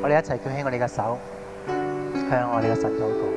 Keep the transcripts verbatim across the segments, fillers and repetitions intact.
我哋一齊舉起我哋嘅手，向我哋嘅神禱告。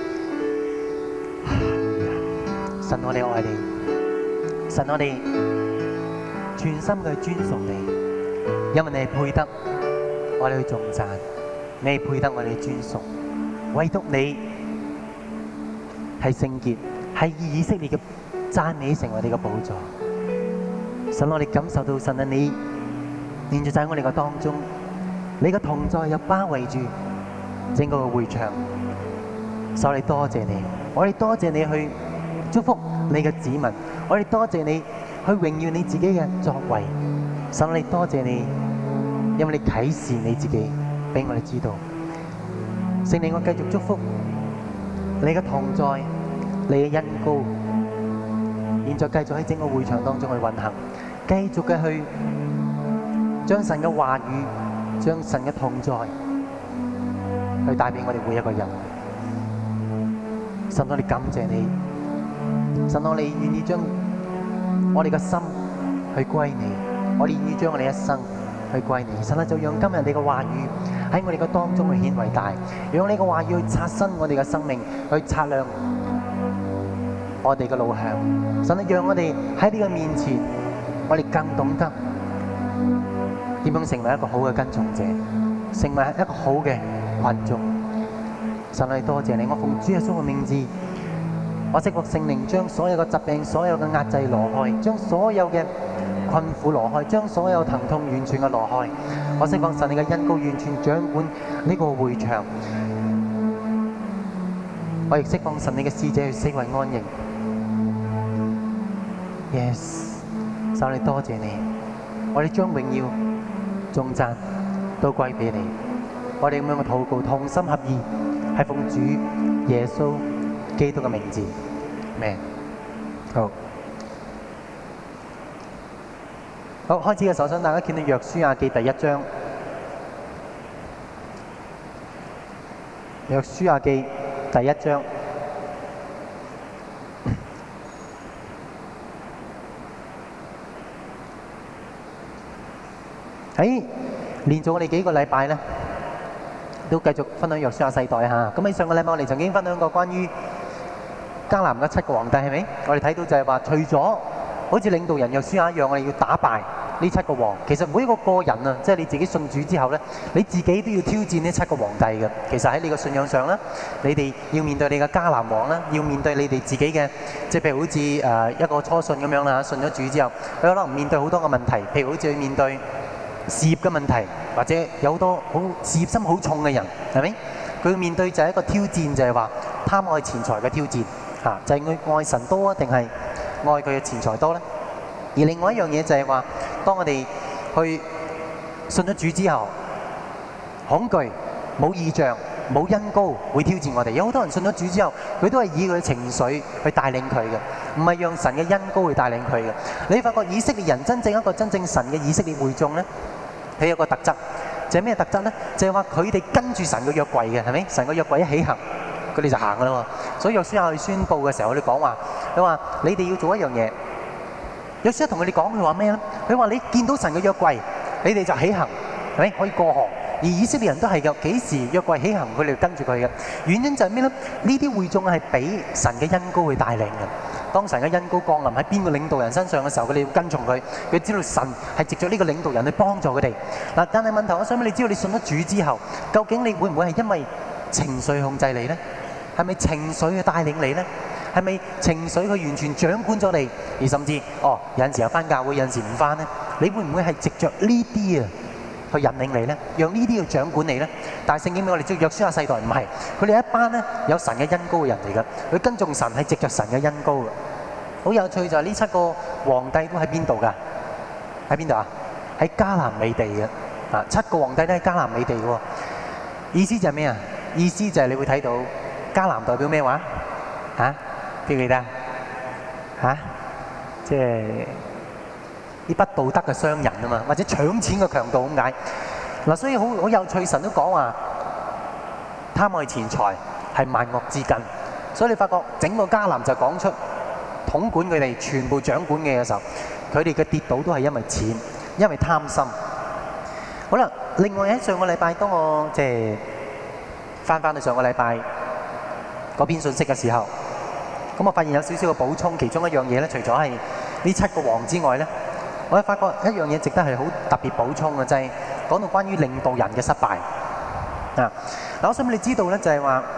神，我哋愛你，神，我哋全心嘅尊崇你，因為你係配得我哋去頌讚，你係配得我哋去尊崇，唯獨你係聖潔，係以以色列嘅讚美成為你嘅寶座。神，我哋感受到神啊，你連住在我哋嘅當中，你嘅同在又包圍住整個嘅會場。所以我哋多謝你，我哋多謝你去祝福你嘅子民，我哋多謝你去榮耀你自己嘅作為。神，我哋多謝你，因為你啟示你自己俾我哋知道。聖靈，我繼續祝福你嘅同在，你嘅恩膏，現在繼續喺整個會場當中去運行，繼續嘅去將神嘅話語、將神嘅同在去帶俾我哋每一個人。神，我哋感謝你，神，我哋願意將我哋嘅心去歸你，我哋願意將我哋一生去歸你。神啊，就讓今日你嘅話語喺我哋嘅當中去顯偉大，讓你嘅話語去刷新我哋嘅生命，去擦亮我哋嘅路向。神啊，讓我哋喺呢個面前，我哋更懂得點樣成為一個好嘅跟從者，成為一個好嘅群眾。神啊，多謝你，我奉主耶穌嘅名字，我釋放聖靈將所有嘅疾病、所有嘅壓制挪開，將所有嘅困苦挪開，將所有疼痛完全嘅挪開。我釋放神你嘅恩膏完全掌管呢個會場。我亦釋放神你嘅使者去四圍安營。Yes， 神你多謝你，我哋將榮耀、頌讚都歸俾你。我哋咁樣嘅禱告，同心合意，係奉主耶穌基督嘅名字。Amen。好。好，開始嘅時候，想大家見到約書亞記第一章。約書亞記第一章。喺連續我哋幾個禮拜咧，都繼續分享約書亞世代嚇。咁喺上個禮拜我哋曾經分享過關於迦南嘅七個皇帝，係咪？我哋睇到就係話，除咗好似領導人約書亞一樣，我哋要打敗呢七個王。其實每一個個人啊，即係你自己信主之後咧，你自己都要挑戰呢七個皇帝嘅。其實喺你嘅信仰上咧，你哋要面對你嘅迦南王啦，要面對你哋自己嘅，即係譬如好似誒一個初信咁樣啦，信咗主之後，佢可能面對好多個問題，譬如好似去面對事業嘅問題，或者有好多好事業心好重嘅人，係咪？佢面對就係一個挑戰，就係話貪愛錢財嘅挑戰嚇，就係佢愛神多啊，定係愛佢嘅錢財多咧？而另外一樣嘢就係話，當我哋去信咗主之後，恐懼、冇異象、冇恩膏會挑戰我哋。有好多人信咗主之後，佢都係以佢嘅情緒去帶領佢嘅，唔係讓神嘅恩膏去帶領佢嘅。你發覺以色列人真正一個真正神嘅以色列會眾咧，佢有個特質，就係咩特質咧？就係話佢哋跟住神嘅約櫃嘅，係咪？神嘅約櫃一起行，佢哋就行噶啦喎。所以約書亞去宣佈嘅時候，佢哋講話，佢話你哋要做一樣嘢。約書亞同佢哋講，佢話咩咧？佢話你見到神嘅約櫃，你哋就起行，係咪？可以過河。而以色列人都係嘅，幾時約櫃起行，佢哋跟住佢嘅。原因就係咩咧？呢啲會眾係俾神嘅恩膏去帶領嘅。當神嘅恩膏降臨喺邊個領導人身上嘅時候，佢哋要跟從佢。佢知道神係藉著呢個領導人去幫助佢哋。嗱，但係問題，我想問你，知道你信咗主之後，究竟你會唔會係因為情緒控制你咧？係咪情緒去帶領你咧？係咪情緒佢完全掌管咗你？而甚至哦，有陣時又返教會，有陣時唔返咧？你會唔會係藉著呢啲啊去引領你咧？讓呢啲去掌管你咧？但係聖經俾我哋知道，約書亞世代唔係，佢哋一班咧有神嘅恩膏嘅人嚟㗎。佢跟從神係藉著神嘅恩膏㗎。好有趣就係呢七個皇帝都喺邊度㗎？喺邊度啊？喺迦南美地嘅啊，七個皇帝都喺迦南美地嘅喎。意思就係咩啊？意思就係你會睇到迦南代表咩話？嚇？記唔記得啊？嚇？即係啲不道德嘅商人啊嘛，或者搶錢嘅強盜咁解。嗱，所以好好有趣，神都講話貪愛錢財係萬惡之根。所以你發覺整個迦南就講出統管佢哋全部掌管嘅時候，佢哋嘅跌倒都係因為錢，因為貪心。 好啦，另外喺上個禮拜，當我即係翻翻去上個禮拜嗰篇信息嘅時候，咁我發現有少少嘅補充，其中一樣嘢咧，除咗係呢七個王之外咧，我發覺一樣嘢值得係好特別補充嘅，就係講到關於領導人嘅失敗啊！嗱，我想你知道咧，就係話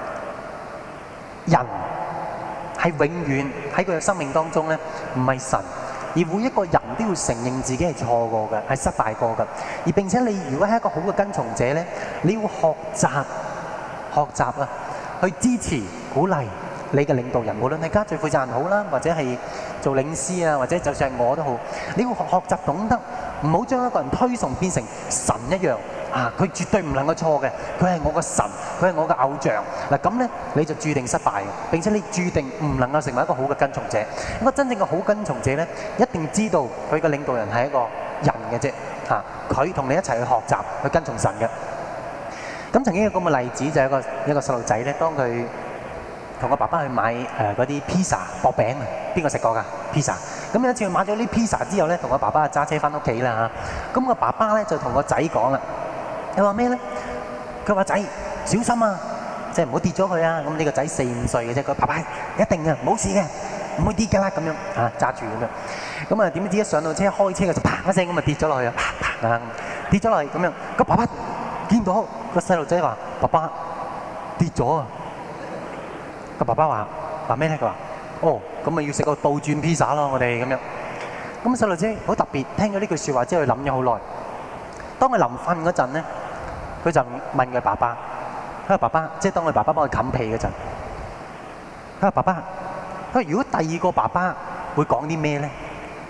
人係永遠喺佢嘅生命當中咧，唔係神。而每一個人都要承認自己係錯過嘅，係失敗過嘅。而並且你如果係一個好嘅跟從者咧，你要學習學習啊，去支持鼓勵你嘅領導人，無論係家最負責人好啦，或者係做領師啊，或者就算係我都好，你要學學習懂得唔好將一個人推崇變成神一樣啊！佢絕對唔能夠錯嘅，佢係我嘅神，佢係我嘅偶像。嗱咁咧，你就注定失敗嘅，並且你注定唔能夠成為一個好嘅跟從者。一個真正嘅好跟從者咧，一定知道佢嘅領導人係一個人嘅啫嚇，佢同你一齊去學習去跟從神嘅。咁曾經有咁嘅例子，就係一個一個細路仔咧，當佢同個爸爸去買誒嗰啲披薩薄餅啊，邊個食過㗎披薩？咁有一次佢買咗啲披薩之後咧，同個爸爸揸車翻屋企啦嚇。咁個爸爸咧就同個仔講啦，佢話咩咧？佢話仔小心啊，即係唔好跌咗佢啊！咁呢個仔四五歲嘅啫，佢爸爸一定嘅冇事嘅，唔會跌㗎啦咁樣嚇，揸住咁樣。咁啊點知一上到車開車嘅就啪一聲咁啊跌咗落去啊，啪啪啊跌咗落去咁樣。個爸爸見到個細路仔話：爸爸跌咗啊！個爸爸話話咩咧？佢話：哦，咁咪要食個倒轉披薩咯，我哋咁樣。咁細路仔好特別，聽咗呢句説話之後，佢諗咗好耐。當佢臨瞓嗰陣咧，佢就問佢爸爸：佢話爸爸，即係當佢爸爸幫佢冚被嗰陣，佢話爸爸，佢話如果第二個爸爸會講啲咩咧？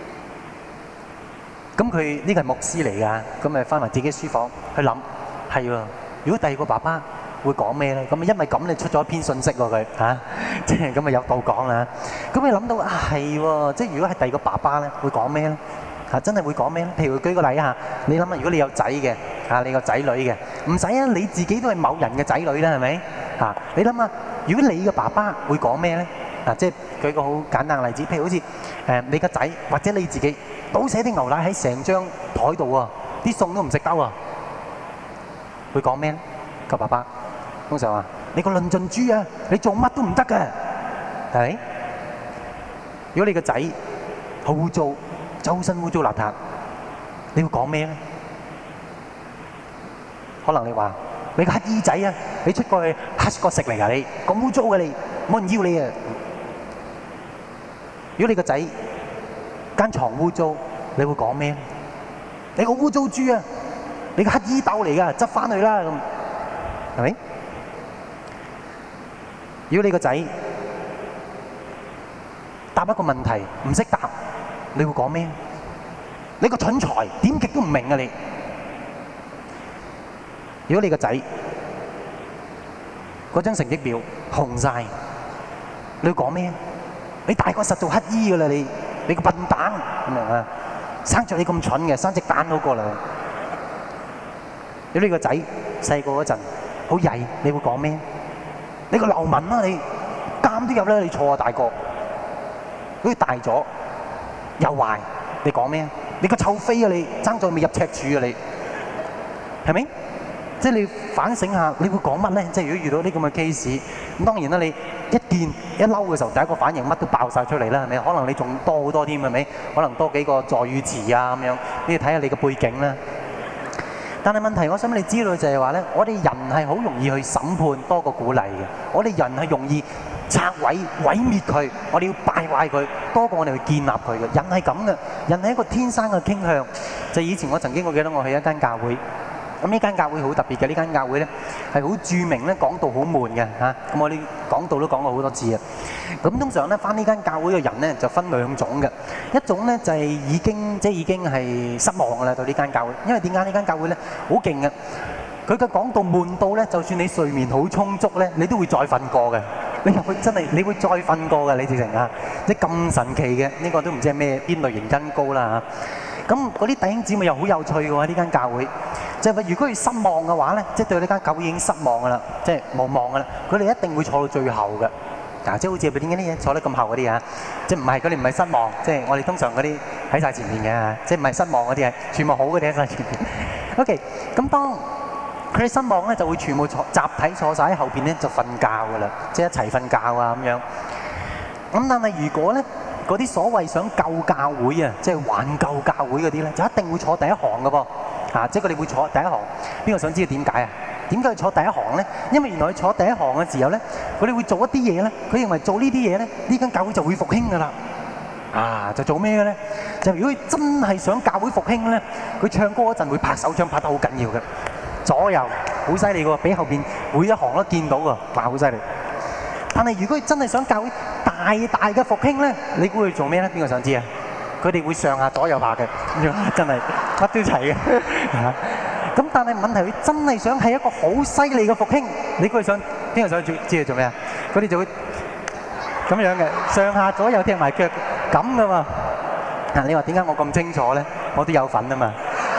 咁佢呢個係牧師嚟㗎，咁咪翻埋自己書房去諗，係喎。如果第二個爸爸會講咩咧？咁啊，因為咁你出咗一篇信息喎，佢嚇，即係咁啊有道講啦。咁你諗到啊係喎，即係如果係第二個爸爸咧，會講咩咧？嚇，真係會講咩咧？譬如舉個例啊，你諗下，如果你有仔嘅嚇，你個仔女嘅，唔使啊，你自己都係某人嘅仔女啦，係咪？嚇，你諗下，如果你嘅爸爸會講咩咧？嗱，即係舉個好簡單嘅例子，譬如好似誒你個仔或者你自己倒瀉啲牛奶喺成張台度啊，啲餸都唔食得啊，會講咩咧？個爸爸通常話：你個論盡豬啊，你做乜都唔得嘅，係咪？如果你個仔好污糟，周身污糟邋遢，你會講咩咧？可能你話：你個乞衣仔啊，你出過去乞個食嚟㗎，你咁污糟嘅你，冇人要你啊！如果你個仔間床污糟，你會講咩？你個污糟豬啊！你個乞衣竇嚟㗎，執翻去啦咁，係咪？如果你個仔答一個問題唔識答，你會講咩？你個蠢材，點極都唔明啊你！如果你個仔嗰張成績表紅晒，你會講咩？你大個實做乞衣㗎啦你！你個笨蛋咁樣啊！生著你咁蠢嘅，生隻蛋好過啦！如果你個仔細個嗰陣好曳，你會講咩？你個流民啊你！監都入啦你錯啊大個！如果大咗又壞，你講咩？你個臭飛啊你！爭在未入赤柱啊你！係咪？即係你反省下，你會講乜咧？即係如果遇到呢咁嘅 case，咁當然啦，你一見一嬲嘅時候，第一個反應乜都爆晒出嚟啦，係咪？可能你仲多好多添，係咪？可能多幾個助語詞啊咁樣，你要睇下你嘅背景啦。但係問題，我想你知道就係話咧，我哋人係好容易去審判多過鼓勵嘅，我哋人係容易拆毀、毀滅佢，我哋要敗壞佢多過我哋去建立佢嘅。人係咁嘅，人係一個天生嘅傾向。就以前我曾經我記得我去一間教會。咁呢間教會好特別嘅，呢間教會咧係好著名咧，講道好悶嘅嚇。咁我哋講道都講過好多次啊。咁通常咧返呢間教會嘅人咧就分兩種嘅，一種咧就係已經即係已經係失望㗎啦對呢間教會，因為點解呢間教會咧好勁嘅？佢嘅講道悶到咧，就算你睡眠好充足咧，你都會再瞓過嘅。你入去真係你會再瞓過嘅，你直情啊！即係咁神奇嘅，呢個都唔知係咩邊類型恩膏啦嚇。咁嗰啲弟兄姊妹又好有趣嘅喎，呢間教會。就係話，如果佢失望嘅話咧，即係對呢間教會已經失望㗎啦，即係無望㗎啦。佢哋一定會坐到最後嘅。嗱，即係好似點解啲嘢坐得咁後嗰啲啊？即係唔係佢哋唔係失望，即係我哋通常嗰啲喺曬前面嘅，即係唔係失望嗰啲係全部好嗰啲喺曬前面。 OK， 咁當佢哋失望咧，就會全部坐集體坐晒喺後邊咧，就瞓覺噶啦，即係一齊瞓覺啊咁樣。咁但係如果咧嗰啲所謂想救教會啊，即係挽救教會嗰啲咧，就一定會坐第一行噶噃。啊，即係佢哋會坐第一行。邊個想知道點解啊？點解要坐第一行咧？因為原來佢坐第一行嘅時候咧，佢哋會做一啲嘢咧。佢認為做呢啲嘢咧，呢間教會就會復興噶啦。啊，就做咩嘅咧？就如果佢真係想教會復興咧，佢唱歌嗰陣會拍手掌拍得好緊要嘅，左右好犀利喎，俾後邊每一行都見到喎，哇，好犀利！但係如果佢真係想教會大大嘅復興咧，你估佢做咩咧？邊個想知啊？佢哋會上下左右拍嘅，真係乜都齊嘅。咁但係問題，佢真係想係一個好犀利嘅復興，你估佢想邊個想知知佢做咩啊？佢哋就會咁樣嘅，上下左右踢埋腳咁噶嘛。嗱，你話點解我咁清楚咧？我都有份啊嘛。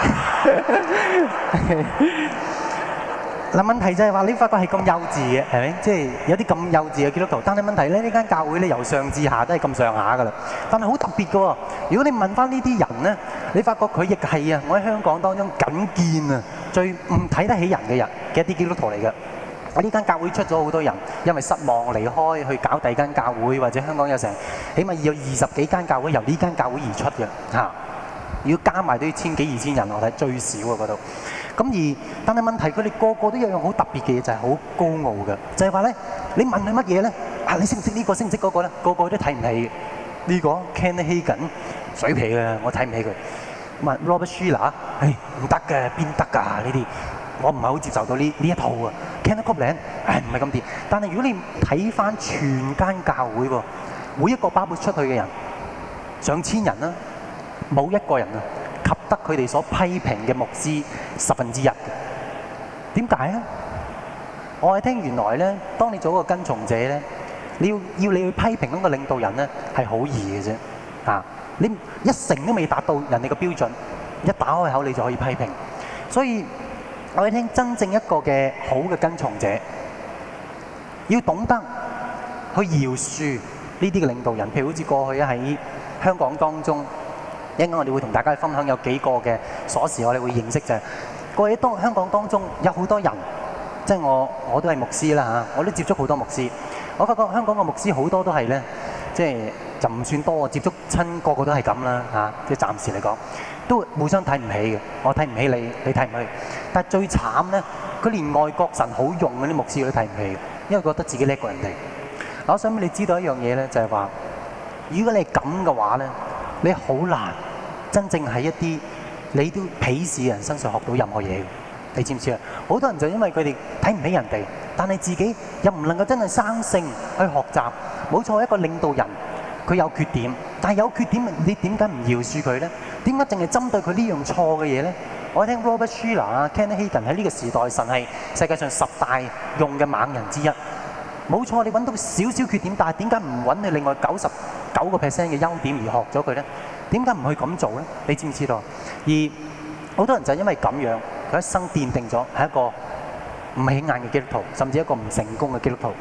嗱，問題就係話你發覺係咁幼稚嘅，係咪？即係有啲咁幼稚嘅基督徒。但係問題咧，呢間教會咧由上至下都係咁上下噶啦。但係好特別嘅喎。如果你問翻呢啲人咧，你發覺佢亦係啊，我喺香港當中僅見啊最唔睇得起人嘅人嘅一啲基督徒嚟嘅。我呢間教會出咗好多人，因為失望離開去搞第二間教會，或者香港有成起碼有二十幾間教會由呢間教會而出嘅嚇。如果加埋都要千幾二千人，我睇最少啊嗰度。咁而但係問題，佢哋個個都有樣好特別嘅嘢，就係好高傲嘅，就係話咧，你問佢乜嘢咧？啊，你識唔識呢個？識唔識嗰個咧？個個都睇唔起呢個 Kenneth Hagin 水皮嘅，我睇唔起佢。問 Robert Schuller， 唉唔得嘅，邊得㗎呢啲？我唔係好接受到呢呢一套啊。Kenneth Copeland， 唉唔係咁掂。但係如果你睇翻全間教會喎，每一個包括出去嘅人，上千人啦，冇一個人啊及得佢哋所批評嘅牧師十分之一嘅。點解啊？我係聽原來咧，當你做一個跟從者咧，你要要你去批評嗰個領導人咧，係好易嘅啫。啊，你一成都未達到人哋嘅標準，一打開口你就可以批評。所以我哋聽真正一個嘅好嘅跟從者，要懂得去饒恕呢啲嘅領導人。譬如好似過去喺香港當中，一陣間我哋會同大家分享有幾個嘅鎖匙，我哋會認識就係過去當香港當中有好多人，即係我我都係牧師啦嚇，我都接觸好多牧師。我發覺香港嘅牧師好多都係咧，即係就唔算多，接觸親個個都係咁啦嚇，即係暫時嚟講。都互相睇唔起嘅，我睇唔起你，你睇唔起。但係最慘咧，佢連外國神好用嗰啲牧師佢都睇唔起，因為覺得自己叻過人哋。我想俾你知道一樣嘢咧，就係話，如果你係咁嘅話咧，你好難真正喺一啲你都鄙視嘅人身上學到任何嘢。你知唔知啊？好多人就因為佢哋睇唔起人哋，但係自己又唔能夠真係生性去學習。冇錯，一個領導人佢有缺點，但係有缺點你點解唔饒恕佢咧？點解淨係針對佢呢樣錯嘅嘢咧？我聽 Robert Schuller 啊、Kenneth Hagin 喺呢個時代，神係世界上十大用嘅猛人之一。冇錯，你揾到少少缺點，但係點解唔揾你另外九十九個 percent 嘅優點而學咗佢咧？點解唔去咁做咧？你知唔知道？而好多人就因為咁樣，佢一生奠定咗係一個唔起眼嘅基督徒，甚至一個唔成功嘅基督徒。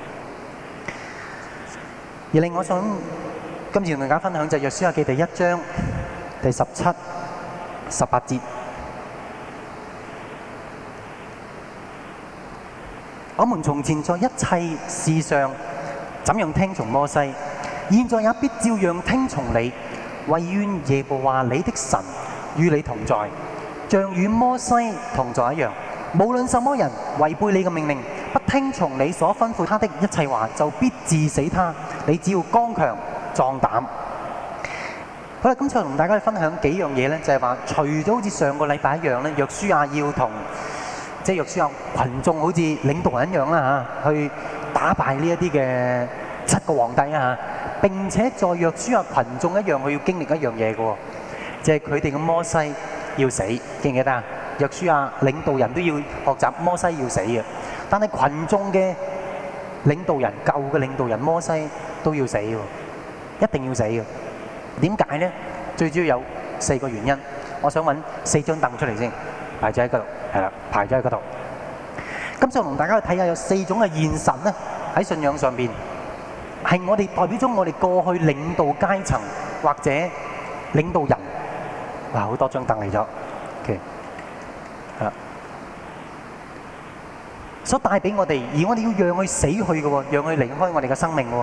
而另外我想今次同大家分享就係約書亞記第一章第十七、十八節。我們從前在一切事上怎樣聽從摩西，現在也必照樣聽從你。惟願耶和華你的神與你同在，像與摩西同在一樣。無論什麼人違背你嘅命令，不聽從你所吩咐他的一切話，就必治死他。你只要剛強壯膽。好啦，今次我同大家去分享幾樣嘢咧，就係話，除咗好似上個禮拜一樣咧，約書亞要同即係約書亞羣眾好似領導人一樣啦嚇，去打敗呢一啲嘅七個皇帝啊嚇。並且在約書亞羣眾一樣，佢要經歷一樣嘢嘅喎，就係佢哋嘅摩西要死，記唔記得啊？約書亞領導人都要學習摩西要死嘅，但係羣眾嘅領導人、舊嘅領導人摩西都要死嘅，一定要死嘅。點解呢？最主要有四個原因，我想揾四張凳出嚟先，排咗喺嗰度，係啦，排咗喺嗰度。今次我同大家去睇下有四種嘅現實咧，喺信仰上邊係我哋代表咗我哋過去領導階層或者領導人。哇，好多張凳嚟咗。OK， 啊，所帶俾我哋，而我哋要讓佢死去嘅喎，讓佢離開我哋嘅生命嘅喎。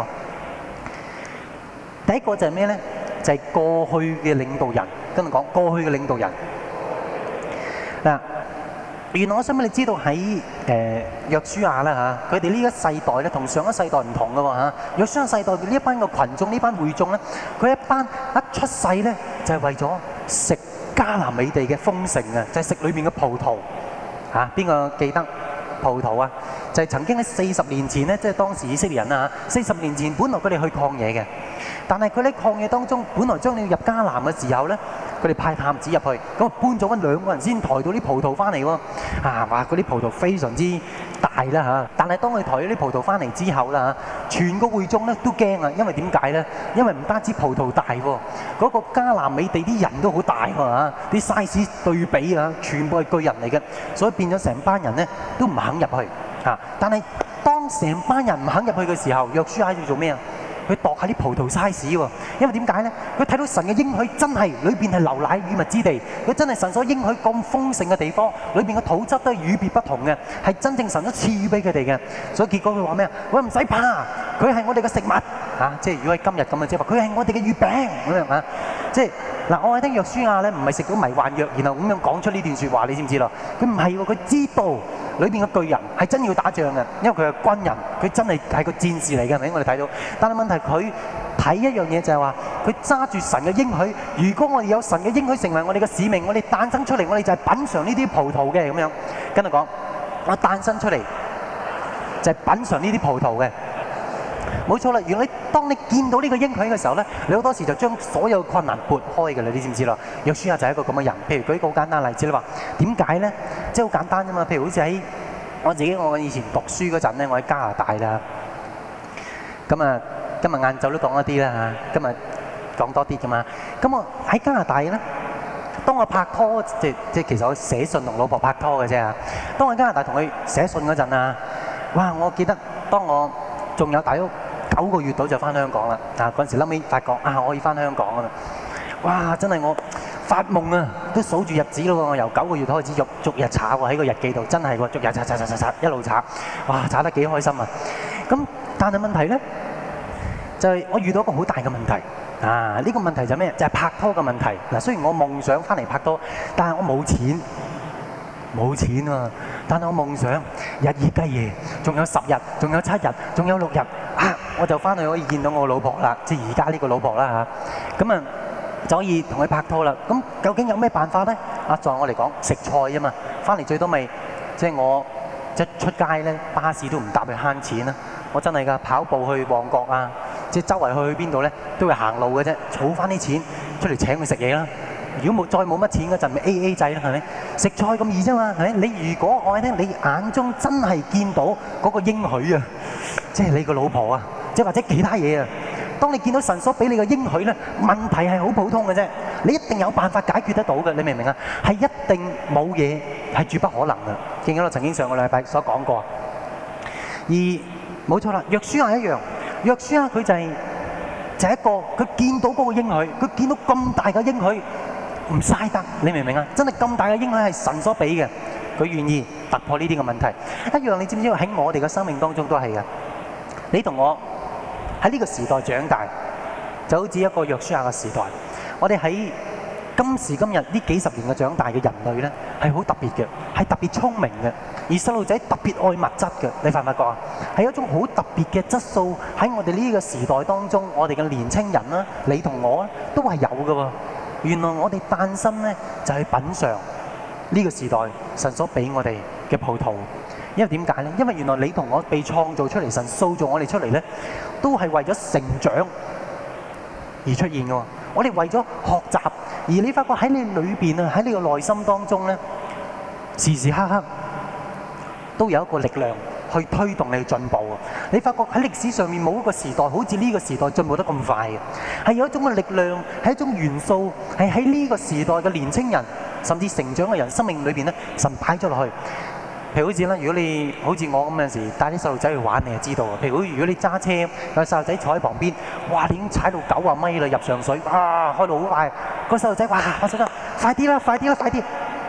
第一個就係咩咧？就係過去嘅領導人，跟住講過去嘅領導人嗱。原來我想俾你知道喺誒約書亞啦嚇，佢哋呢一世代咧同上一世代唔同嘅喎嚇。約書亞世代呢一班嘅羣眾，呢班會眾咧，佢一班一出世咧就係為咗食迦南美地嘅豐盛啊，就係食裏邊嘅葡萄嚇。邊個記得葡萄啊？就係曾經喺四十年前咧，即係當時以色列人啊嚇，四十年前本來佢哋去曠野嘅，但係佢喺曠野當中，本來將你入迦南嘅時候咧，佢哋派探子入去，咁啊搬咗揾兩個人先抬到啲葡萄翻嚟喎。啊，哇！嗰啲葡萄非常之大啦嚇，但係當佢抬咗啲葡萄翻嚟之後啦嚇，全個會眾咧都驚啊，因為點解咧？因為唔單止葡萄大喎，嗰個迦南美地啲人都好大喎嚇，啲 size 對比啊，全部係巨人嚟嘅，所以變咗成班人咧都唔肯入去嚇。但係當成班人唔肯入去嘅時候，約書亞要做咩啊？佢度下啲葡萄 size 喎，因為點解咧？佢睇到神嘅應許真係裏邊係流奶與蜜之地，佢真係神所應許咁豐盛嘅地方，裏邊嘅土質都係與別不同嘅，係真正神都賜予俾佢哋嘅。所以結果佢話咩啊？我唔使怕，佢係我哋嘅食物嚇，即係如果喺今日咁嘅即係話，佢係我哋嘅月餅咁樣啊，即係嗱，我係聽約書亞咧，唔係食到迷幻藥，然後咁樣講出呢段説話，你知唔知咯？佢唔係喎，佢知道裏邊嘅巨人係真要打仗嘅，因為佢係軍人，佢真係係個戰士嚟嘅，係咪？我哋睇到，但係問題佢睇一樣嘢就係話，佢揸住神嘅應許。如果我哋有神嘅應許成為我哋嘅使命，我哋誕生出嚟，我哋就係品嚐呢啲葡萄嘅咁樣。跟住講，我誕生出嚟就係品嚐呢啲葡萄嘅。冇錯啦，如果你當你見到呢個應許嘅時候咧，你好多時就將所有困難撥開嘅啦，你知唔知啦？約書亞就係一個咁嘅人。譬如舉一個好簡單嘅例子，你話點解咧？即係好簡單啫嘛。譬如好似喺我自己，我以前讀書嗰陣咧，我喺加拿大啦。咁啊，今日晏晝都講一啲啦嚇，今日講多啲噶嘛。咁我喺加拿大咧，當我拍拖，即即其實我寫信同老婆拍拖嘅啫嚇。當我喺加拿大同佢寫信嗰陣啊，哇！我記得當我仲有大約九個月到就翻香港啦。啊，嗰陣時後尾發覺啊，我可以翻香港啊嘛。哇！真係我發夢啊，都數住日子咯喎。我由九個月開始逐逐日查喎，喺個日記度，真係喎，逐日查查查查查一路查，哇！查得幾開心啊！咁但係問題咧，就係我遇到一個好大嘅問題啊！呢個問題就係咩？就係拍拖嘅問題。嗱，雖然我夢想翻嚟拍拖，但係我冇錢，冇錢啊！但係我夢想日以繼夜，仲有十日，仲有七日，仲有六日啊！我就翻去可以見到我老婆啦，即係而家呢個老婆啦嚇。咁啊就可以同佢拍拖啦。咁究竟有咩辦法咧？啊，在我嚟講食菜啊嘛，翻嚟最多咪即係我一出街咧，巴士都唔搭去慳錢啦。我真係㗎，跑步去旺角啊，即係周圍去去邊度咧，都會行路嘅啫，儲翻啲錢出嚟請佢食嘢啦。如果冇再冇乜錢嗰陣，咪 A A 制啦，係咪？食菜咁易啫嘛，係咪？你如果我聽你眼中真係見到嗰個應許啊，即係你個老婆啊，即係或者其他嘢啊，當你見到神所俾你嘅應許咧，問題係好普通嘅啫，你一定有辦法解決得到嘅，你明唔明啊？係一定冇嘢係絕不可能嘅。記唔記得我曾經上個禮拜所講過？而冇錯啦，約書亞一樣，約書亞佢就係就係一個佢見到嗰個應許，佢見到咁大嘅應許。唔嘥得，你明唔明啊？真係咁大嘅應許係神所俾嘅，佢願意突破呢啲嘅問題。一樣你知唔知喺我哋嘅生命當中都係嘅。你同我喺呢個時代長大，就好似一個約書亞嘅時代。我哋喺今時今日呢幾十年嘅長大嘅人類咧，係好特別嘅，係特別聰明嘅。而細路仔特別愛物質嘅，你發唔發覺啊？係一種好特別嘅質素喺我哋呢個時代當中，我哋嘅年青人啦，你同我咧都係有嘅喎。原來我哋誕生咧就係品嚐呢個時代神所俾我哋嘅葡萄，因為點解咧？因為原來你同我被創造出嚟，神塑造我哋出嚟咧，都係為咗成長而出現嘅。我哋為咗學習，而你發覺喺你裏邊啊，喺你個內心當中咧，時時刻刻都有一個力量去推動你去進步。你發覺喺歷史上面冇一個時代好似呢個時代進步得咁快嘅，係有一種嘅力量，係一種元素，係喺呢個時代嘅年青人甚至成長嘅人生命裏邊咧，神擺咗落去。譬如好似啦，如果你好似我咁有陣時帶啲細路仔去玩，你就知道啊。譬如如果你揸車，有細路仔坐喺旁邊，哇！你已經踩到九啊米啦，入上水，哇！開到好快，個細路仔哇！我想得快啲啦，快啲啦，快啲嗱。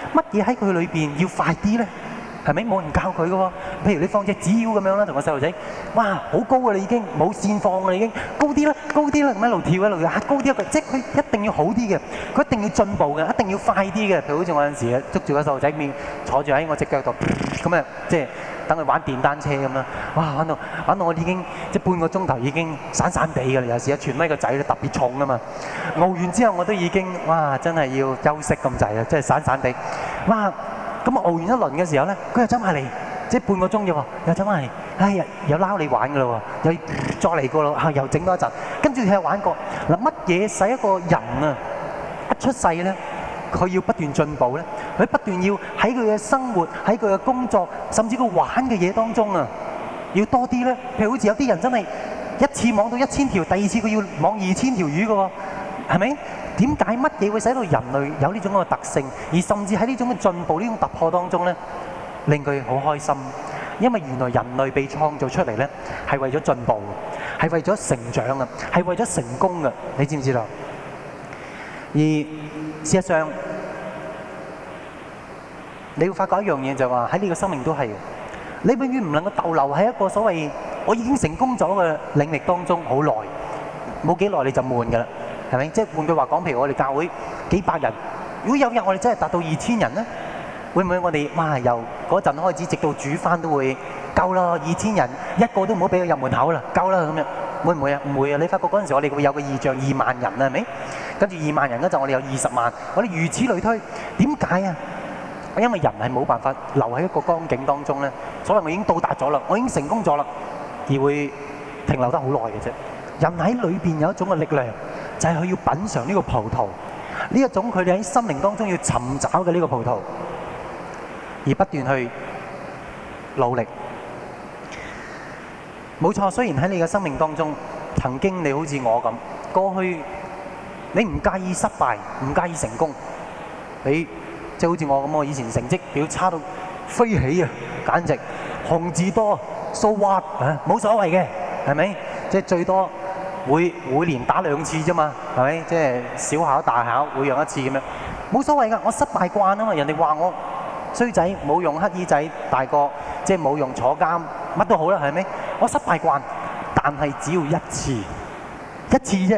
乜嘢喺佢裏邊要快啲咧？係咪冇人教佢嘅喎？譬如你放隻紙鷂咁樣啦，同個細路仔，哇，好高啊！你已經冇線放㗎啦，已經高啲啦，高啲啦，咁一路跳一路嚇高啲一個，即係佢一定要好啲嘅，佢一定要進步嘅，一定要快啲嘅。譬如好似我有陣時捉住個細路仔面，坐住喺我隻腳度，咁啊，即係等佢玩電單車咁啦。哇，玩到玩到我已經即係半個鐘頭已經散散地㗎啦。有時阿傳威個仔咧特別重啊嘛，熬完之後我都已經哇，真係要休息咁滯啊，即係散散地，哇！咁啊，熬完一輪嘅時候咧，佢又走埋嚟，即係半個鐘啫喎，又走埋嚟，哎呀，又撈你玩噶啦喎，又再嚟過咯，嚇又整多一陣，跟住佢又玩過。嗱，乜嘢使一個人啊一出世咧，佢要不斷進步咧？佢不斷要喺佢嘅生活、喺佢嘅工作，甚至佢玩嘅嘢當中啊，要多啲咧。譬如好似有啲人真係一次網到一千條，第二次佢要網二千條魚嘅喎，係咪？點解乜嘢會使到人類有呢種嘅特性，而甚至喺呢種嘅進步、呢種突破當中咧，令佢好開心？因為原來人類被創造出嚟咧，係為咗進步，係為咗成長啊，係為咗成功嘅。你知唔知道？而事實上，你會發覺一樣嘢就係話喺呢個生命都係，你永遠唔能夠逗留喺一個所謂我已經成功咗嘅領域當中好耐，冇幾耐你就悶㗎啦。係咪？即係換句話講，譬如我哋教會幾百人，如果有日我哋真係達到二千人咧，會唔會我哋哇由嗰陣開始直到煮翻都會夠啦？二千人一個都唔好俾佢入門口啦，夠啦咁樣，會唔會啊？唔會啊！你發覺嗰陣時我哋會有個異象二萬人啊，係咪？跟住二萬人嗰陣我哋有二十萬，我哋如此類推。點解啊？因為人係冇辦法留喺一個光景當中咧，所謂我已經到達咗啦，我已經成功咗啦，而會停留得好耐嘅啫。人喺裏邊有一種嘅力量。就係佢要品嚐呢個葡萄，呢一種佢哋喺心靈當中要尋找嘅呢個葡萄，而不斷去努力。冇錯，雖然喺你嘅生命當中，曾經你好似我咁，過去你唔介意失敗，唔介意成功，你即係好似我咁，我以前成績表差到飛起啊，簡直紅字多，so what啊，冇所謂嘅，係咪？即係最多。會每年打兩次啫嘛，係咪？即係小考大考會用一次咁樣，冇所謂㗎。我失敗慣啊嘛，人哋話我衰仔冇用乞兒仔大個，即係冇用坐監，乜都好啦，係咪？我失敗慣，但係只要一次，一次啫，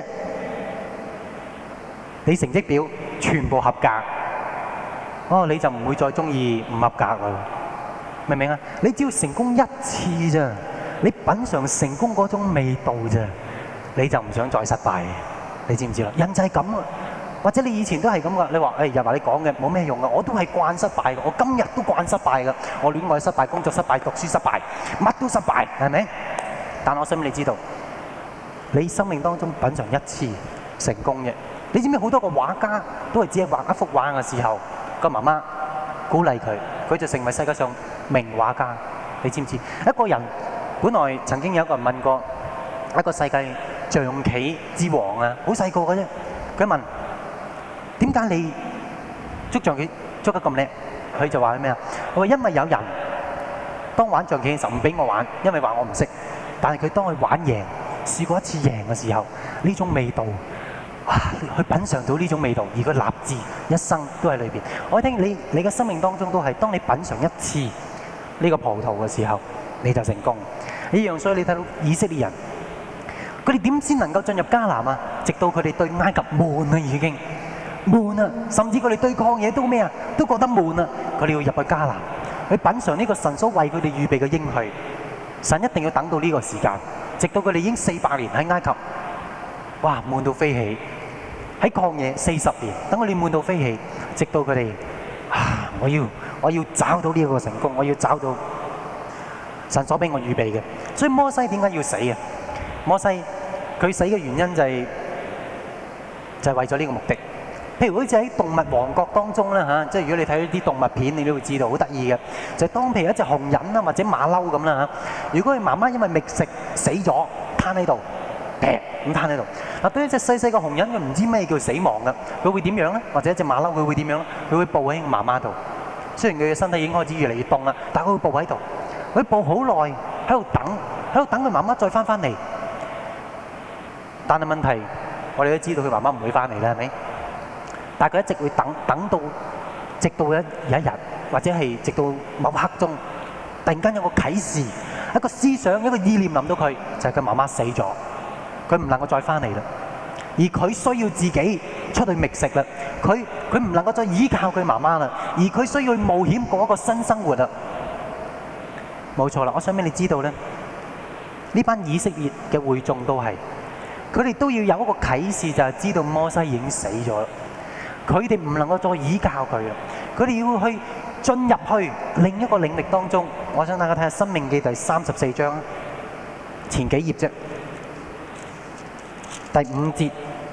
你成績表全部合格，哦，你就唔會再中意唔合格㗎，明唔明啊？你只要成功一次啫，你品嚐成功嗰種味道啫。你就唔想再失敗，你知唔知啦？人就係咁啊，或者你以前都係咁噶。你話誒又話你講嘅冇咩用噶，我都係慣失敗嘅，我今日都慣失敗嘅，我戀愛失敗、工作失敗、讀書失敗，乜都失敗，係咪？但我想你知道，你生命當中品嚐一次成功嘅，你知唔知好多個畫家都係只係畫一幅畫嘅時候，個媽媽鼓勵佢，佢就成為世界上名畫家。你知唔知？一個人本來曾經有一個人問過一個世界象棋之王啊，好細個嘅啫。佢問：點解你捉象棋捉得咁叻？佢就話咩啊？佢話因為有人當玩象棋嘅時候唔俾我玩，因為話我唔識。但係佢當佢玩贏，試過一次贏嘅時候，呢種味道，哇！佢品嚐到呢種味道，而佢立志一生都喺裏邊。我聽你你嘅生命當中都係，當你品嚐一次呢個葡萄嘅時候，你就成功。呢樣所以你睇到以色列人。佢哋點先能夠進入迦南啊？直到佢哋對埃及悶啊，已經悶啊，甚至佢哋對抗嘢都咩啊？都覺得悶啊！佢哋要入去迦南，去品嚐呢個神所為佢哋預備嘅應許。神一定要等到呢個時間，直到佢哋已經四百年喺埃及，哇，悶到飛起；喺曠野四十年，等佢哋悶到飛起，直到佢哋啊，我要我要找到呢個成功，我要找到神所俾我預備嘅。所以摩西點解要死啊？摩西佢死嘅原因就係、是、就係、是、為咗呢個目的。譬如好似喺動物王國當中啦嚇，即係如果你睇啲動物片，你都會知道好得意嘅。就係、是、當譬如一隻紅人啦，或者馬騮咁啦嚇，如果佢媽媽因為覓食死咗，攤喺度，劈咁攤喺度。嗱，對一隻細細個紅人，佢唔知咩叫死亡嘅，佢會點樣咧？或者一隻馬騮佢會點樣咧？佢會抱喺媽媽度。雖然佢嘅身體已經開始越嚟越凍啦，但係佢會抱喺度，佢抱好耐喺度等，喺度等佢媽媽再翻翻嚟。但係問題，我哋都知道佢媽媽唔會翻嚟啦，係咪？但係佢一直會等，等到直到有一日，或者係直到某刻鐘，突然間有個啟示，一個思想，一個意念臨到佢，就係佢媽媽死咗，佢唔能夠再翻嚟啦。而佢需要自己出去覓食啦，佢佢唔能夠再依靠佢媽媽啦，而佢需要去冒險過一個新生活啦。冇錯啦，我想俾你知道咧，呢班以色列嘅會眾都係，佢哋都要有一個啟示，就係知道摩西已經死咗啦。佢哋唔能夠再依靠佢啊！佢哋要去進入去另一個領域當中。我想大家睇下《申命記》第三十四章前幾頁啫，第五節。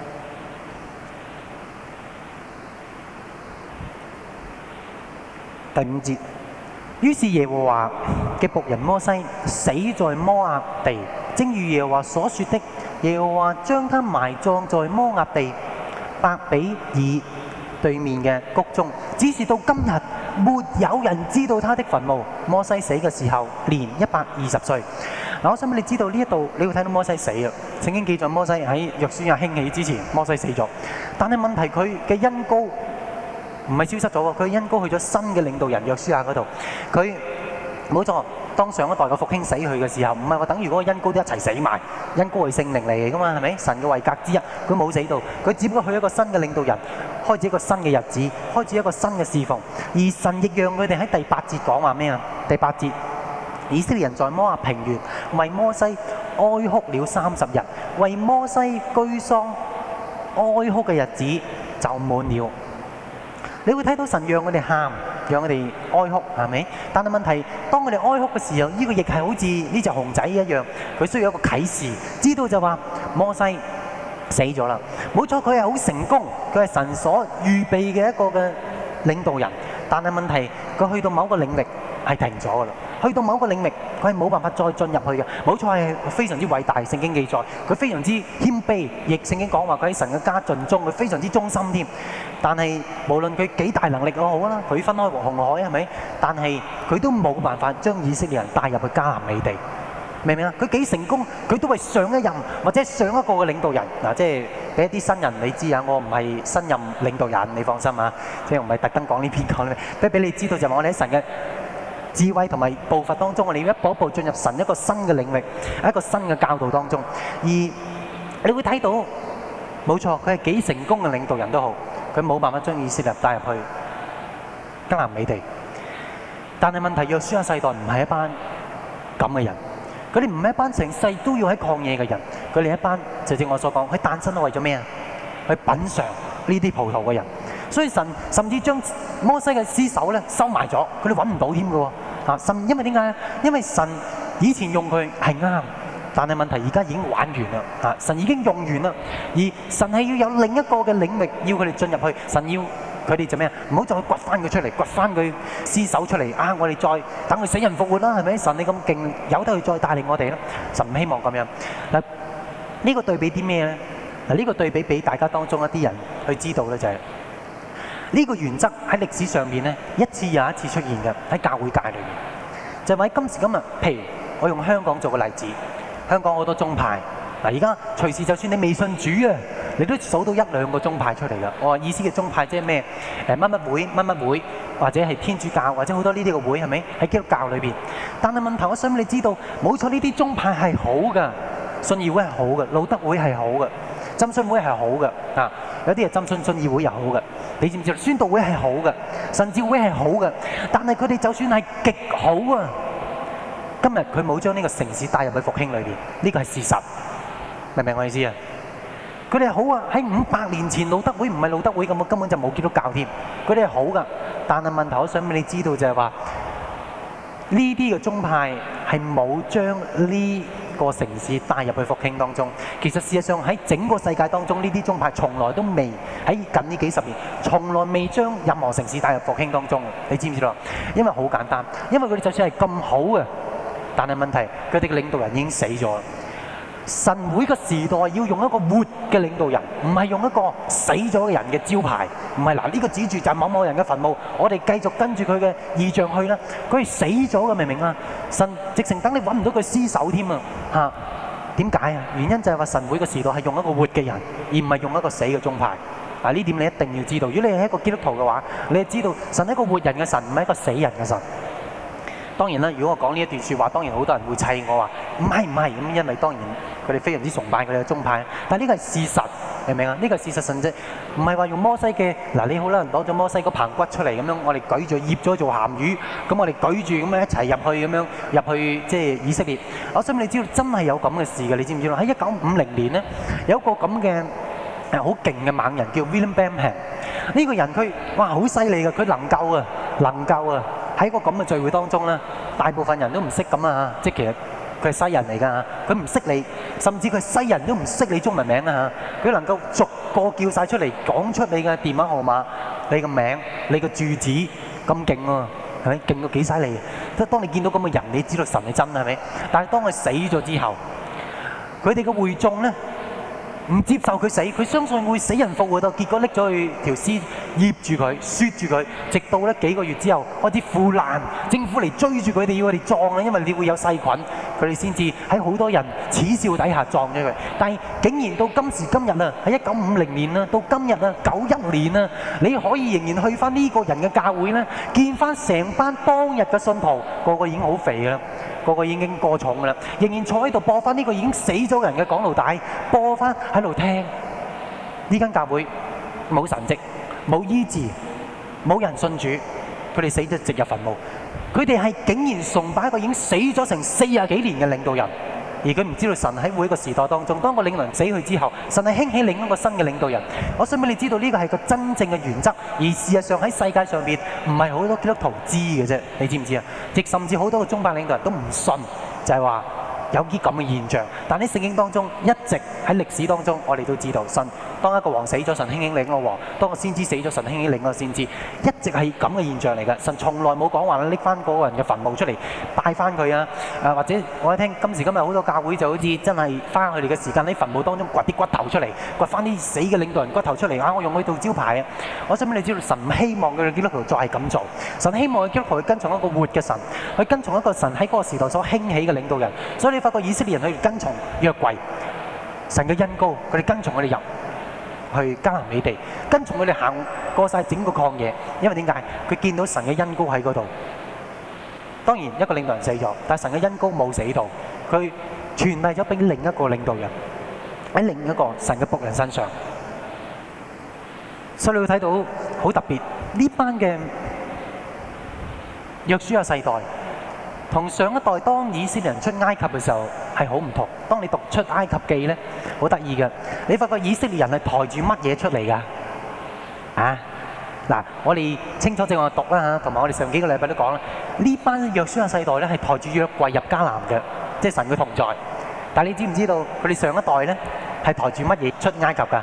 第五節，於是耶和華嘅僕人摩西死在摩押地，正如耶和華所說的，耶和華將他埋葬在摩押地伯比爾對面嘅谷中，只是到今日沒有人知道他的墳墓。摩西死嘅時候年一百二十歲。嗱，我想俾你知道呢一度，你會睇到摩西死啊！聖經記載摩西喺約書亞興起之前，摩西死咗。但係問題佢嘅恩膏唔係消失咗喎，佢恩膏去咗新嘅領導人約書亞嗰度。佢冇錯，當上一代嘅復興死去嘅時候，唔係話等於嗰個恩膏都一齊死埋，恩膏係聖靈嚟㗎嘛，係咪？神嘅位格之一，佢冇死到，佢只不過去一個新嘅領導人，開始一個新嘅日子，開始一個新嘅侍奉。而神亦讓佢哋喺第八節講話咩啊？第八節，以色列人在摩押平原為摩西哀哭了三十日，為摩西居喪哀哭嘅日子就滿了。你會睇到神讓我哋喊，讓我哋哀哭，係咪？但係問題，當我哋哀哭嘅時候，呢個亦係好似呢隻熊仔一樣，佢需要一個啟示，知道就話摩西死咗啦。冇錯，佢係好成功，佢係神所預備嘅一個嘅領導人。但係問題，佢去到某個領域係停咗㗎啦。去到某個領域，佢係冇辦法再進入去嘅。冇錯，係非常之偉大，聖經記載佢非常之謙卑，亦聖經講話佢喺神嘅家盡忠，佢非常之忠心添。但係無論佢幾大能力都好啦，佢分開紅海係咪？但係佢都冇辦法將以色列人帶入去迦南美地，明唔明啊？佢幾成功，佢都係上一任或者上一個嘅領導人嗱，即係俾一啲新人你知啊，我唔係新任領導人，你放心啊，即係唔係特登講呢篇講呢，不過俾你知道就係我哋喺神嘅智慧同埋步伐當中，我哋要一步一步進入神一個新嘅領域，一個新嘅教導當中。而你會睇到，冇錯，佢係幾成功嘅領導人都好，佢冇辦法將以色列帶入去迦南美地。但係問題，約書亞世代唔係一班咁嘅人，佢哋唔係一班成世都要喺曠野嘅人，佢哋一班就正如我所講，佢誕生係為咗咩啊？去品嚐呢啲葡萄嘅人。所以神甚至將摩西嘅屍首咧收埋咗，佢哋揾唔到添嘅喎。啊，神因為點解？因為神以前用佢係啱，但係問題而家已經玩完啦。啊，神已經用完啦，而神係要有另一個嘅領域要佢哋進入去。神要佢哋做咩啊？唔好再掘翻佢出嚟，掘翻佢屍首出嚟啊！我哋再等佢死人復活啦，係咪？神你咁勁，由得佢再帶領我哋啦。神唔希望咁樣。嗱，呢個對比啲咩咧？嗱，呢個對比俾大家當中一啲人去知道咧，就係。呢個原則喺歷史上面咧，一次又一次出現嘅喺教會界裏面，就係話喺今時今日，譬如我用香港做個例子，香港好多宗派嗱，而家隨時就算你未信主啊，你都數到一兩個宗派出嚟㗎。我話意思嘅宗派即係咩？誒乜乜會、乜乜會，或者係天主教，或者好多呢啲嘅會係咪喺基督教裏邊？但係問題，我想你知道，冇錯，呢啲宗派係好㗎，信義會係好嘅，路德會係好嘅。浸信會係好嘅，啊，有啲係浸信信義會又好嘅，你知唔知？宣道會係好嘅，神召會係好嘅，但係佢哋就算係極好啊，今日佢冇將呢個城市帶入去復興裏邊，呢個係事實，明唔明我意思啊？佢哋係好啊，喺五百年前路德會唔係路德會咁，根本就冇基督教添，佢哋係好㗎，但係問題我想俾你知道就係話，呢啲嘅宗派係冇將呢個城市帶入去復興當中，其實事實上喺整個世界當中，呢啲宗派從來都未喺近呢幾十年，從來未將任何城市帶入復興當中。你知唔知道？因為好簡單，因為佢哋就算係咁好嘅，但係問題佢哋嘅領導人已經死咗。神會嘅時代要用一個活嘅領導人，唔係用一個死咗嘅人嘅招牌，唔係嗱呢個指住就係某某人嘅墳墓，我哋繼續跟住佢嘅異象去啦。佢係死咗嘅，明唔明啊？神直情等你揾唔到佢屍首添啊！嚇，點解啊？原因就係話神會嘅時代係用一個活嘅人，而唔係用一個死嘅宗派。 嗱，呢點你一定要知道。如果你係一個基督徒嘅話，你係知道神係一個活人嘅神，唔係一個死人嘅神。當然啦，如果我講呢一段説話，當然好多人會砌我話唔係唔係咁，因為當然佢哋非常之崇拜佢哋嘅宗派。但係呢個係事實，明唔明啊？呢個係事實，神啫，唔係話用摩西嘅嗱，你好啦，攞咗摩西個棚骨出嚟咁樣，我哋舉住醃咗做鹹魚，咁我哋舉住咁樣一齊入去咁樣入去即係以色列。我想你知道真係有咁嘅事嘅，你知唔知道？喺一九五零年咧，有一個咁嘅誒好勁嘅猛人叫 William Branham。呢個人佢哇好犀利嘅，佢能夠啊能夠啊！喺個咁嘅聚會當中咧，大部分人都唔識咁啊！即係其實佢係西人嚟㗎，佢唔識你，甚至佢西人都唔識你中文名啊！佢能夠逐個叫晒出嚟，講出你嘅電話號碼、你嘅名、你嘅住址，咁勁喎，係咪？勁到幾犀利？即係當你見到咁嘅人，你知道神係真係咪？但係當佢死咗之後，佢哋嘅會眾咧，唔接受佢死，佢相信會死人復活到，結果拎咗去條屍醃住佢，雪住佢，直到咧幾個月之後開始腐爛，政府嚟追住佢哋要佢哋葬啊，因為你會有細菌，佢哋先至喺好多人恥笑底下葬咗佢。但係竟然到今時今日啊，喺一九五零年啊，到今日啊，九一年啊，你可以仍然去翻呢個人嘅教會咧，見翻成班當日嘅信徒，個個已經好肥啦。個個已經過重㗎啦，仍然坐喺度播翻呢個已經死咗人嘅講道帶，播翻喺度聽。呢間教會冇神蹟，冇醫治，冇人信主，佢哋死咗直入墳墓。佢哋係竟然崇拜一個已經死咗成四十幾年嘅領導人，而佢唔知道神喺每一個時代當中，當個領導人死去之後，神係興起另一個新嘅領導人。我想俾你知道呢個係個真正嘅原則，而事實上喺世界上邊唔係好多基督徒知嘅啫，你知唔知啊？亦甚至好多個宗派領導人都唔信，就係話有啲咁嘅現象。但喺聖經當中，一直喺歷史當中，我哋都知道神當一個王死咗，神興起另一個王；當個先知死咗，神興起另一個先知，一直係咁嘅現象嚟㗎。神從來冇講話拎翻嗰個人嘅墳墓出嚟拜翻佢啊！誒或者我一聽今時今日好多教會就好似真係花佢哋嘅時間喺墳墓當中掘啲骨頭出嚟，掘翻啲死嘅領導人骨頭出嚟啊！我用佢做招牌啊！我想俾你知道，神唔希望佢哋基督徒再係咁做，神希望佢基督徒去跟從一個活嘅神，去跟從一個神喺嗰個時代所興起嘅領導人。所以你發覺以色列人去跟從約櫃，神嘅恩膏，佢哋跟從佢哋入去迦南美地，跟從佢哋行過晒整個曠野，因為點解？佢見到神嘅恩膏喺嗰度。當然一個領導人死咗，但係神嘅恩膏冇死到，佢傳遞咗俾另一個領導人喺另一個神嘅僕人身上。所以你會睇到好特別，呢班嘅約書亞世代同上一代當以色列人出埃及嘅時候係好唔同。當你讀出埃及記咧，好得意嘅，你發覺以色列人係抬住乜嘢出嚟㗎？啊，嗱，我哋清楚正我讀啦嚇，同埋我哋上幾個禮拜都講啦，呢班約書亞世代咧係抬住約櫃入迦南嘅，即係神嘅同在。但係你知唔知道佢哋上一代咧係抬住乜嘢出埃及㗎？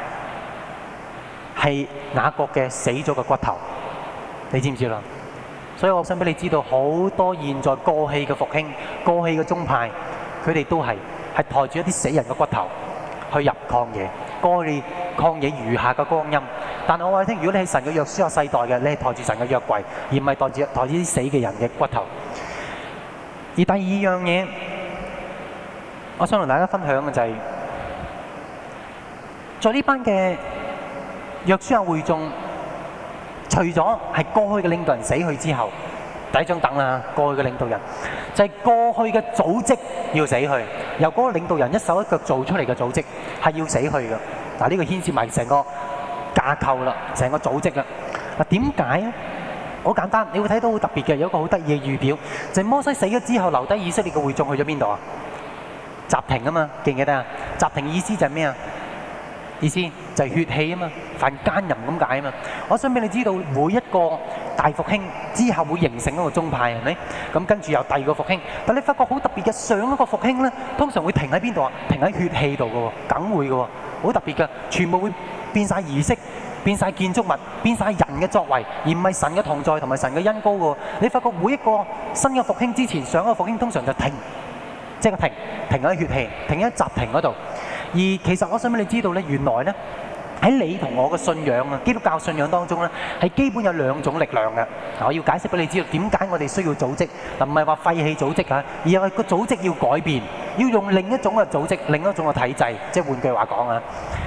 係雅各嘅死咗嘅骨頭，你知唔知啦？所以我想俾你知道，好多現在過氣嘅復興、過氣嘅宗派，佢哋都係係抬住一啲死人嘅骨頭去入曠野，過去曠野餘下嘅光陰。但係我話你聽，如果你係神嘅約書亞世代嘅，你係抬住神嘅約櫃，而唔係抬住抬住啲死嘅人嘅骨頭。而第二樣嘢，我想同大家分享嘅就係，在呢班嘅約書亞會眾，除咗係過去嘅領導人死去之後，第一張凳啦，過去嘅領導人就係過去嘅組織要死去，由嗰個領導人一手一腳做出嚟嘅組織係要死去嘅。嗱，呢個牽涉埋成個架構啦，成個組織啦。嗱，點解咧？好簡單，你會睇到好特別嘅，有一個好得意嘅預表，就係摩西死咗之後，留低以色列嘅會眾去咗邊度啊？集停啊嘛，記唔記得啊？集停意思就係咩啊？意思就係血氣啊嘛，犯奸淫咁解啊嘛。我想俾你知道，每一個大復興之後會形成一個宗派，係咪？咁跟住有第二個復興，但你發覺好特別嘅，上一個復興咧，通常會停喺邊度啊？停喺血氣度嘅喎，梗會嘅喎，好特別嘅，全部會變晒儀式，變晒建築物，變晒人嘅作為，而唔係神嘅同在同埋神嘅恩膏嘅喎。你發覺每一個新嘅復興之前，上一個復興通常就停，即係停，停喺血氣，停喺集停嗰度。而其實我想俾你知道咧，原來咧喺你同我嘅信仰啊，基督教信仰當中咧，係基本有兩種力量嘅。嗱，我要解釋俾你知道點解我哋需要組織，嗱，唔係話廢棄組織嚇，而係個組織要改變，要用另一種嘅組織，另一種嘅體制。即係換句話講啊，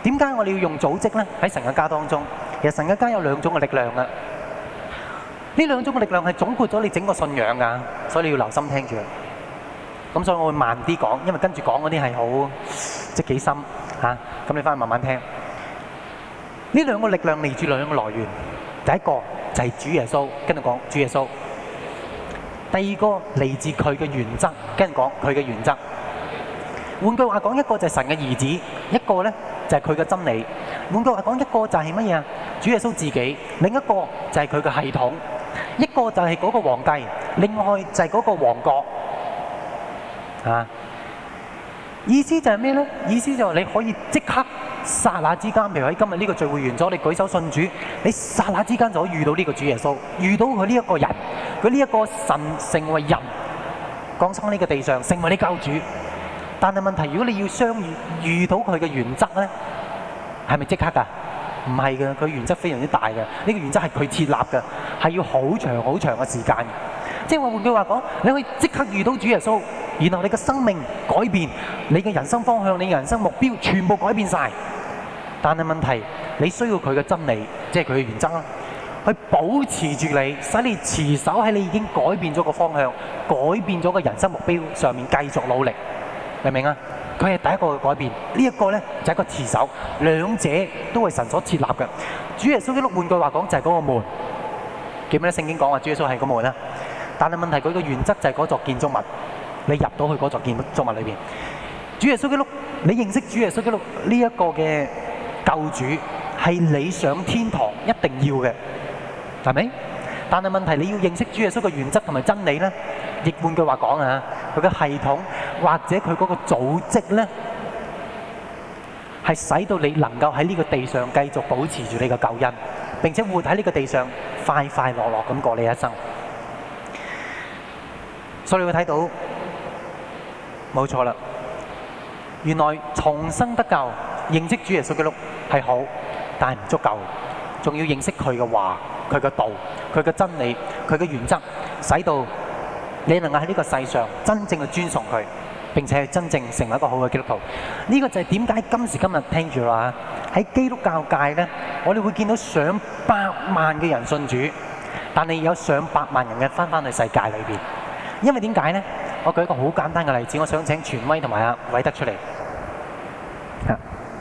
點解我哋要用組織呢？喺神嘅家當中，其實神嘅家有兩種嘅力量啊。呢兩種嘅力量係總括咗你整個信仰㗎，所以你要留心聽住。咁所以我會慢啲講，因為跟住講嗰啲係好即係幾深嚇。咁你翻去慢慢聽。呢兩個力量嚟自兩個來源，第一個就係主耶穌，跟住講主耶穌。第二個嚟自佢嘅原則，跟住講佢嘅原則。換句話講，一個就係神嘅兒子，一個呢就係佢嘅真理。換句話講，一個就係乜嘢啊？主耶穌自己，另一個就係佢嘅系統，一個就係嗰個皇帝，另外就係嗰個王國。啊！意思就係咩呢？意思就係你可以即刻剎那之間，譬如喺今日呢個聚會完咗，你舉手信主，你剎那之間就可以遇到呢個主耶穌，遇到佢呢一個人，佢呢一個神成為人，降生喺呢個地上，成為你救主。但係問題，如果你要相遇遇到佢嘅原則呢，係咪即刻㗎？唔係嘅，佢原則非常之大嘅。呢個原則係佢設立嘅，係要好長好長嘅時間。即係話換句話講，你可以即刻遇到主耶穌，然後你嘅生命改變，你嘅人生方向、你嘅人生目標全部改變晒。但係問題，你需要佢嘅真理，即係佢嘅原則啦，去保持住你，使你持守喺你已經改變咗個方向、改變咗個人生目標上面繼續努力。明唔明啊？佢係第一個嘅改變，呢一個呢就係一個持守，兩者都係神所設立嘅。主耶穌基督換句話講就係嗰個門，記唔記得聖經講話主耶穌係個門啊？但係問題佢個原則就係嗰座建築物，你入到去嗰座建築物裏邊，主耶穌基督，你認識主耶穌基督呢一個嘅救主係你上天堂一定要嘅，係咪？但係問題你要認識主耶穌嘅原則同埋真理呢，亦換句話講啊，佢嘅系統或者佢嗰個組織呢，係使到你能夠喺呢個地上繼續保持住你嘅救恩，並且活喺呢個地上快快樂樂咁過你一生。所以你會睇到，冇錯啦，原來重生得救，認識主耶穌基督係好，但係唔足夠，仲要認識佢嘅話、佢嘅道、佢嘅真理、佢嘅原則，使到你能夠喺呢個世上真正去尊崇佢，並且真正成為一個好嘅基督徒。呢、這個就係點解今時今日聽住啦，喺基督教界呢，我哋會見到上百萬嘅人信主，但係有上百萬人嘅返返去世界裏邊。因為點解呢？我舉一個好簡單嘅例子，我想請權威同埋阿偉德出嚟。啊，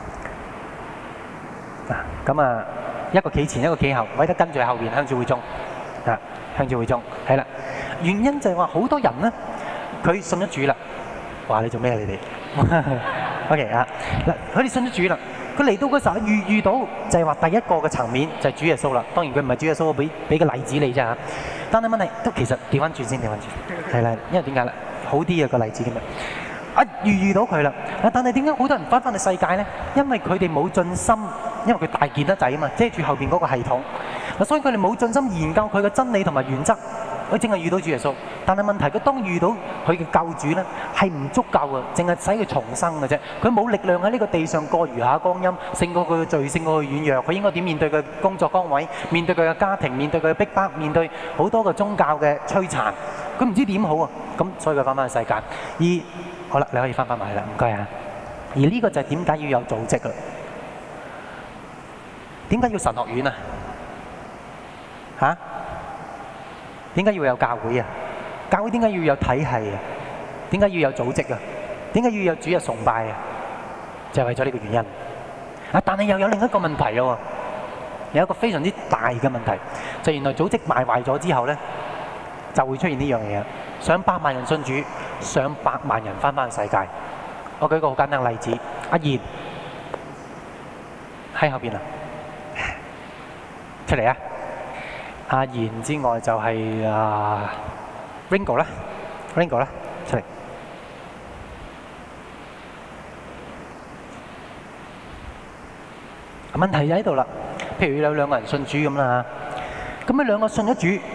咁啊，一個企前，一個企後，偉德跟住喺後邊，向住會眾。啊，向住會眾，係啦。原因就係話好多人呢，佢信咗主啦。話你做咩啊？你哋？OK 啊，嗱，佢哋信咗主啦。佢嚟到嗰時候遇遇到就係話第一個嘅層面就係主耶穌啦。當然佢唔係主耶穌，我俾俾個例子你啫嚇。但係問題都其實調翻轉先，調翻轉係啦，因為點解咧？好啲啊個例子咁樣，啊遇遇到佢啦。但係點解好多人翻返去世界咧？因為佢哋冇盡心，因為佢大件得滯啊嘛，遮住後邊嗰個系統嗱，所以佢哋冇盡心研究佢嘅真理同埋原則。佢淨係遇到主耶穌，但係問題佢當遇到佢嘅救主咧，係唔足夠嘅，淨係使佢重生嘅啫。佢冇力量喺呢個地上過餘下光陰，勝過佢嘅罪，勝過佢軟弱。佢應該點面對佢工作崗位，面對佢嘅家庭，面對佢嘅逼迫，面對好多個宗教嘅摧殘。佢唔知點好啊！咁所以佢翻返去世界。而好啦，你可以翻返埋啦，唔該啊。而呢個就係點解要有組織啦？點解要神學院啊？嚇？點解要有教會啊？教會點解要有體系啊？點解要有組織啊？點解要有主日崇拜啊？就係為咗呢個原因。啊！但係又有另一個問題咯，有一個非常之大嘅問題，就原來組織敗壞咗之後咧，就會出現呢樣嘢。上百萬人信主，上百萬人翻返去世界。我舉個好簡單嘅例子，阿賢喺後邊啊，出嚟啊！阿賢之外就係啊 Ringo 啦 ，Ringo 啦，出嚟。問題就喺度啦。譬如有兩個人信主咁啦，咁呢兩個信咗主，哇，好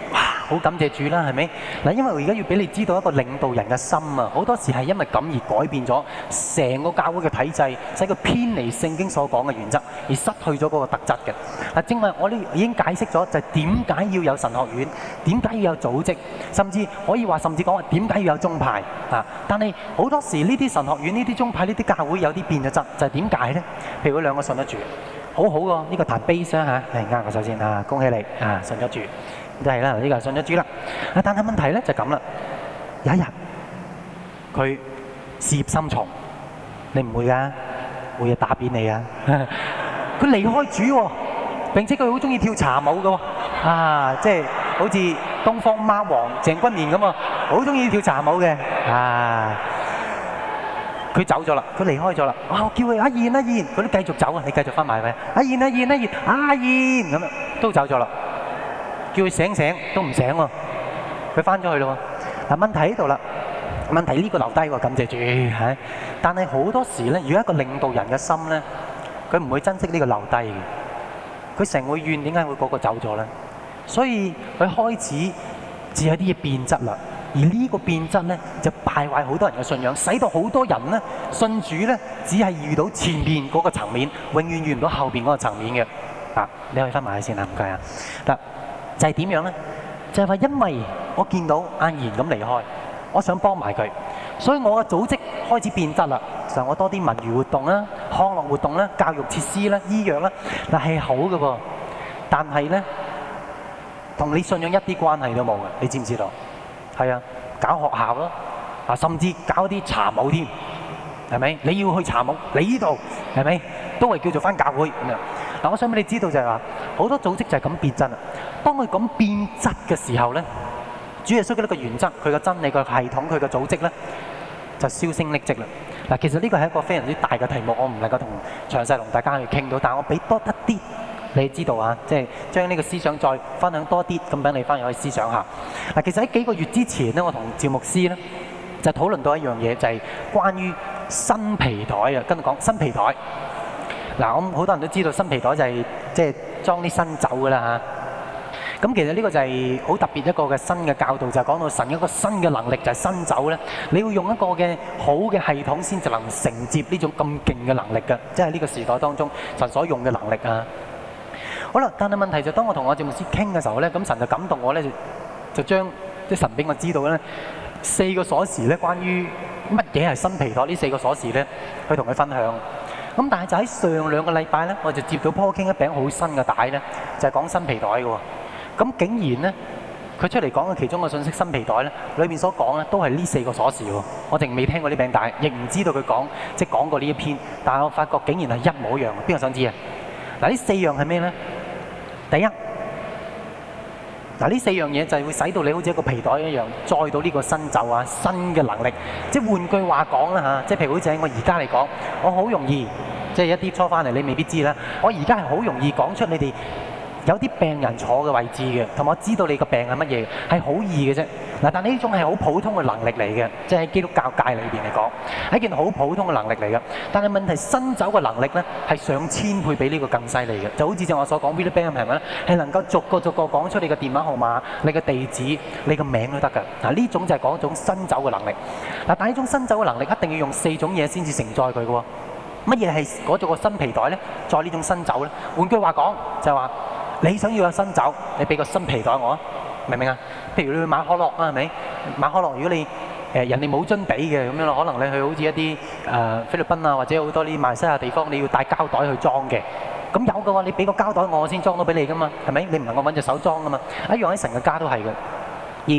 好感謝主啦，係咪？嗱，因為我而家要俾你知道一個領導人嘅心啊，好多時係因為咁而改變咗成個教會嘅體制，使佢偏離聖經所講嘅原則，而失去咗嗰個特質嘅。嗱，正話我哋已經解釋咗，就係點解要有神學院，點解要有組織，甚至可以話甚至講話點解要有宗派啊？但係好多時呢啲神學院、呢啲宗派、呢啲教會有啲變咗質，就係點解咧？譬如嗰兩個信得住。好好喎，呢個彈 bass 啦嚇，係啱嘅。首先啊，恭喜你啊，信咗主，就係啦，呢個信咗主啦。啊，但係問題咧就咁啦，有一日佢事業心重，你唔會㗎，會有打扁你啊！佢離開主喎，並且佢好中意跳茶舞嘅喎，啊，即係好似東方貓王鄭君綿咁啊，好中意跳茶舞嘅啊！佢走咗啦，佢離開咗啦。哇！我叫佢阿燕阿燕，佢都繼續走啊！你繼續翻埋咪？阿燕阿燕阿燕阿燕咁樣都走咗啦。叫佢醒醒都唔醒喎，佢翻咗去咯。嗱，問題喺度啦，問題呢個留低喎，感謝主係。但係好多時咧，如果一個領導人嘅心咧，佢唔會珍惜呢個留低嘅，佢成日會怨點解會嗰個走咗咧？所以佢開始只有啲嘢變質啦。而呢個變質咧，就敗壞好多人嘅信仰，使到好多人咧信主咧，只係遇到前面嗰個層面，永遠遇唔到後邊嗰個層面嘅。嗱，你可以翻埋去先啦，唔該啊。嗱，就係點樣咧？就係話因為我見到阿賢咁離開，我想幫埋佢，所以我嘅組織開始變質啦。就我多啲文娛活動啦、康樂活動啦、教育設施啦、醫藥啦，嗱係好嘅噃。但係咧，同你信仰一啲關係都冇嘅，你知唔知道？係啊，搞學校咯，啊甚至搞啲茶舞添，係咪？你要去茶舞，你呢度係咪？都係叫做返教會咁樣。嗱，我想俾你知道就係話，好多組織就係咁變質啦。當佢咁變質嘅時候咧，主耶穌嘅一個原則，佢嘅真理、佢嘅系統、佢嘅組織咧，就銷聲匿跡啦。嗱，其實呢個係一個非常之大嘅題目，我唔能夠同詳細同大家去傾到，但係我俾多一啲。你知道啊，即係將呢個思想再分享多啲，咁俾你翻去可以思想下。嗱，其實喺幾個月之前咧，我同趙牧師咧就討論到一樣嘢，就係關於新皮袋啊。跟住講新皮袋。嗱，我好多人都知道新皮袋就係即係裝啲新酒噶啦嚇。咁其實呢個就係好特別一個嘅新嘅教導，就係講到神一個新嘅能力，就係新酒咧。你要用一個嘅好嘅系統先至能承接呢種咁勁嘅能力嘅，即係呢個時代當中神所用嘅能力啊。好啦，但係問題就當我同我趙牧師傾嘅時候咧，咁神就感動我咧，就就將即係神俾我知道咧四個鎖匙咧，關於乜嘢係新皮袋呢四個鎖匙咧，去同佢分享。咁但係就喺上兩個禮拜咧，我就接到 Paul King一餅好新嘅帶咧，就係講新皮袋嘅喎。咁竟然咧，佢出嚟講嘅其中個信息新皮袋咧，裏面所講咧都係呢四個鎖匙喎。我淨未聽過呢餅帶，亦唔知道佢講即係講過呢一篇，但係我發覺竟然係一模一樣。邊個想知啊？嗱，呢四樣係咩咧？第一，嗱呢四樣嘢就係會使到你好似一個皮袋一樣，載到呢個新酒啊、新嘅能力。即係換句話講啦嚇，即係譬如好似喺我而家嚟講，我好容易，即係一啲初翻嚟你未必知啦。我而家係好容易講出你哋有啲病人坐嘅位置嘅，同埋我知道你個病係乜嘢，係好易嘅啫。嗱，但係呢種係好普通嘅能力嚟嘅，即係喺基督教界裏邊嚟講，係一件好普通嘅能力嚟嘅。但係問題新酒嘅能力咧，係上千倍比呢個更犀利嘅。就好似正我所講 Willie Bam 係咪咧？係能夠逐個逐個講出你嘅電話號碼、你嘅地址、你嘅名都得㗎。嗱，呢種就係講一種新酒嘅能力。嗱，但係呢種新酒嘅能力一定要用四種嘢先至承載佢嘅喎。乜嘢係嗰種個新皮袋咧？載呢種新酒咧？換句話講，就係話你想要有新酒，你俾個新皮袋我啊！明唔明啊？譬如你去買可樂啊，係咪？買可樂，如果你誒、呃、人哋冇樽俾嘅咁樣咯，可能你去好似一啲誒、呃、菲律賓啊，或者好多啲馬來西亞地方，你要帶膠袋去裝嘅。咁有嘅話，你俾個膠袋我先裝到俾你噶嘛，係咪？你唔能夠揾隻手裝噶嘛。一樣喺神嘅家都係嘅。而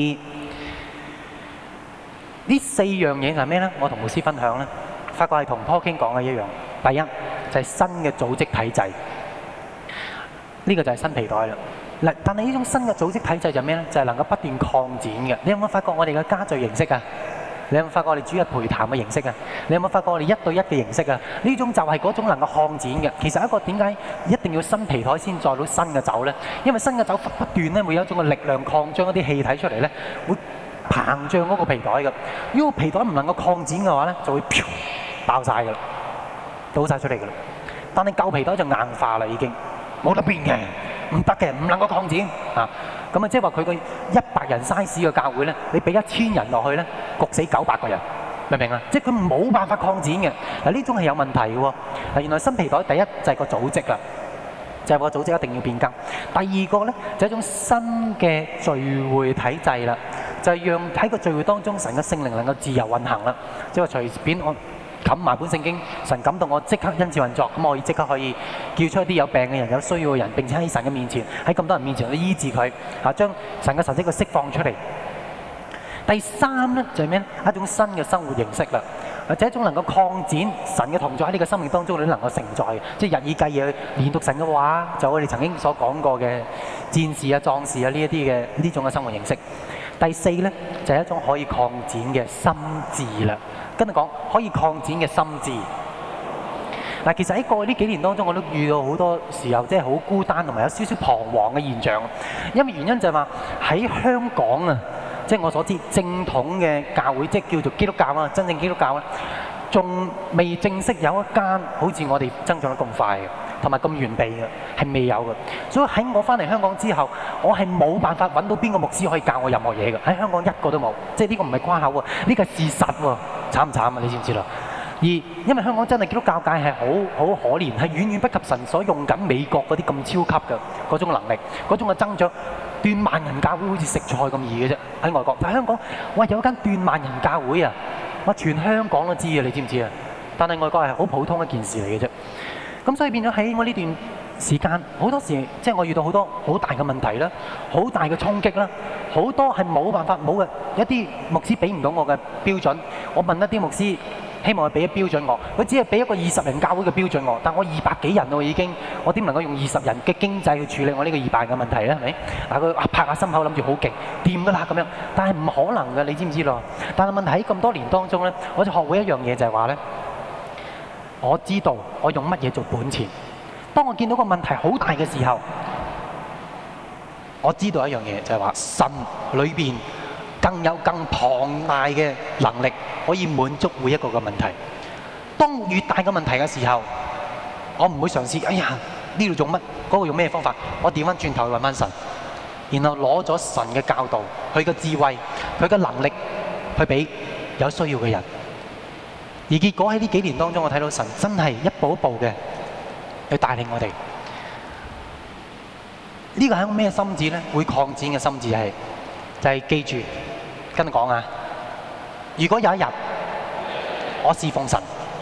呢四樣嘢係咩咧？我同牧師分享咧，發覺係同 Paul King 講嘅一樣。第一就係、是、新嘅組織體制，呢、這個就係新皮袋啦。嗱，但係呢種新嘅組織體制就係咩咧？就係、是、能夠不斷擴展嘅。你有冇發覺我哋嘅家聚形式啊？你有冇發覺我哋主日陪談嘅形式啊？你有冇發覺我哋一對一嘅形式啊？呢種就係嗰種能夠擴展嘅。其實一個點解一定要新皮袋先載到新嘅酒咧？因為新嘅酒不斷咧會有一種嘅力量擴張一啲氣體出嚟咧，會膨脹嗰個皮袋嘅。如果皮袋唔能夠擴展嘅話咧，就會飄爆晒㗎啦，倒晒出嚟㗎啦。但係舊皮袋就硬化啦，已經冇得變嘅。 唔得嘅，唔能夠擴展啊！咁啊，即係話佢個一百人 size 嘅教會咧，你俾一千人落去咧，焗死九百個人，明唔明啊？即係佢冇辦法擴展嘅。嗱，呢種係有問題嘅喎。嗱，原來新皮袋第一就係個組織啦，就係個組織一定要變更。第二個咧就係一種新嘅聚會體制啦，就係讓喺個聚會當中，神嘅聖靈能夠自由運行啦，即係話隨便我冚埋本聖經，神感動我即刻恩賜運作，咁我可以即刻可以叫出一啲有病嘅人、有需要嘅人，並且喺神嘅面前，喺咁多人面前去醫治佢，啊，將神嘅神蹟去釋放出嚟。第三咧就係咩咧？一種新嘅生活形式啦，或者一種能夠擴展神嘅同在喺呢個生命當中，你都能夠承載嘅，即係日以繼夜研讀神嘅話，就我哋曾經所講過嘅戰士啊、壯士啊呢一啲嘅呢種嘅生活形式。第四咧就係一種可以擴展嘅心智啦。跟住講可以擴展嘅心智。嗱，其實喺過去呢幾年當中，我都遇到好多時候，即係好孤單同埋有少少彷徨嘅現象。因為原因就係話喺香港啊，即係我所知正統嘅教會，即係叫做基督教啊，真正基督教咧，仲未正式有一間好似我哋增長得咁快嘅，同埋咁完備嘅，係未有嘅。所以喺我翻嚟香港之後，我係冇辦法揾到邊個牧師可以教我任何嘢嘅。喺香港一個都冇，即係呢個唔係誇口喎，呢個係事實喎。慘唔慘啊？你知唔知啦？而因為香港真係基督教界係好好可憐，係遠遠不及神所用緊美國嗰啲咁超級嘅嗰種能力，嗰種嘅增長。斷萬人教會好似食菜咁易嘅啫，喺外國。但係香港，哇有一間斷萬人教會啊，哇全香港都知啊，你知唔知啊？但係外國係好普通一件事嚟嘅啫。咁所以變咗喺我呢段時間，好多時即係我遇到好多好大嘅問題啦，好大嘅衝擊啦，好多係冇辦法冇嘅一啲牧師俾唔到我嘅標準。我問一啲牧師，希望佢俾一標準我，佢只係俾一個二十人教會嘅標準我，但我二百幾人喎已經，我點能夠用二十人嘅經濟去處理我呢個二百嘅問題咧？係咪？嗱，佢拍下心口諗住好勁，掂㗎啦咁樣，但係唔可能㗎，你知唔知咯？但係問題喺咁多年當中咧，我就學會一樣嘢就係話咧，我知道我用乜嘢做本錢。當我見到個問題好大嘅時候，我知道一樣嘢就係話神裏邊更有更龐大嘅能力可以滿足每一個嘅問題。當越大嘅問題嘅時候，我唔會嘗試，哎呀呢度做乜，嗰個用咩方法？我調翻轉頭去揾翻神，然後攞咗神嘅教導、佢嘅智慧、佢嘅能力去俾有需要嘅人。而結果喺呢幾年當中，我睇到神真係一步一步嘅去帶領我哋。呢個係一個咩心智咧？會擴展嘅心智係就係記住，跟你講啊！如果有一日我侍奉神，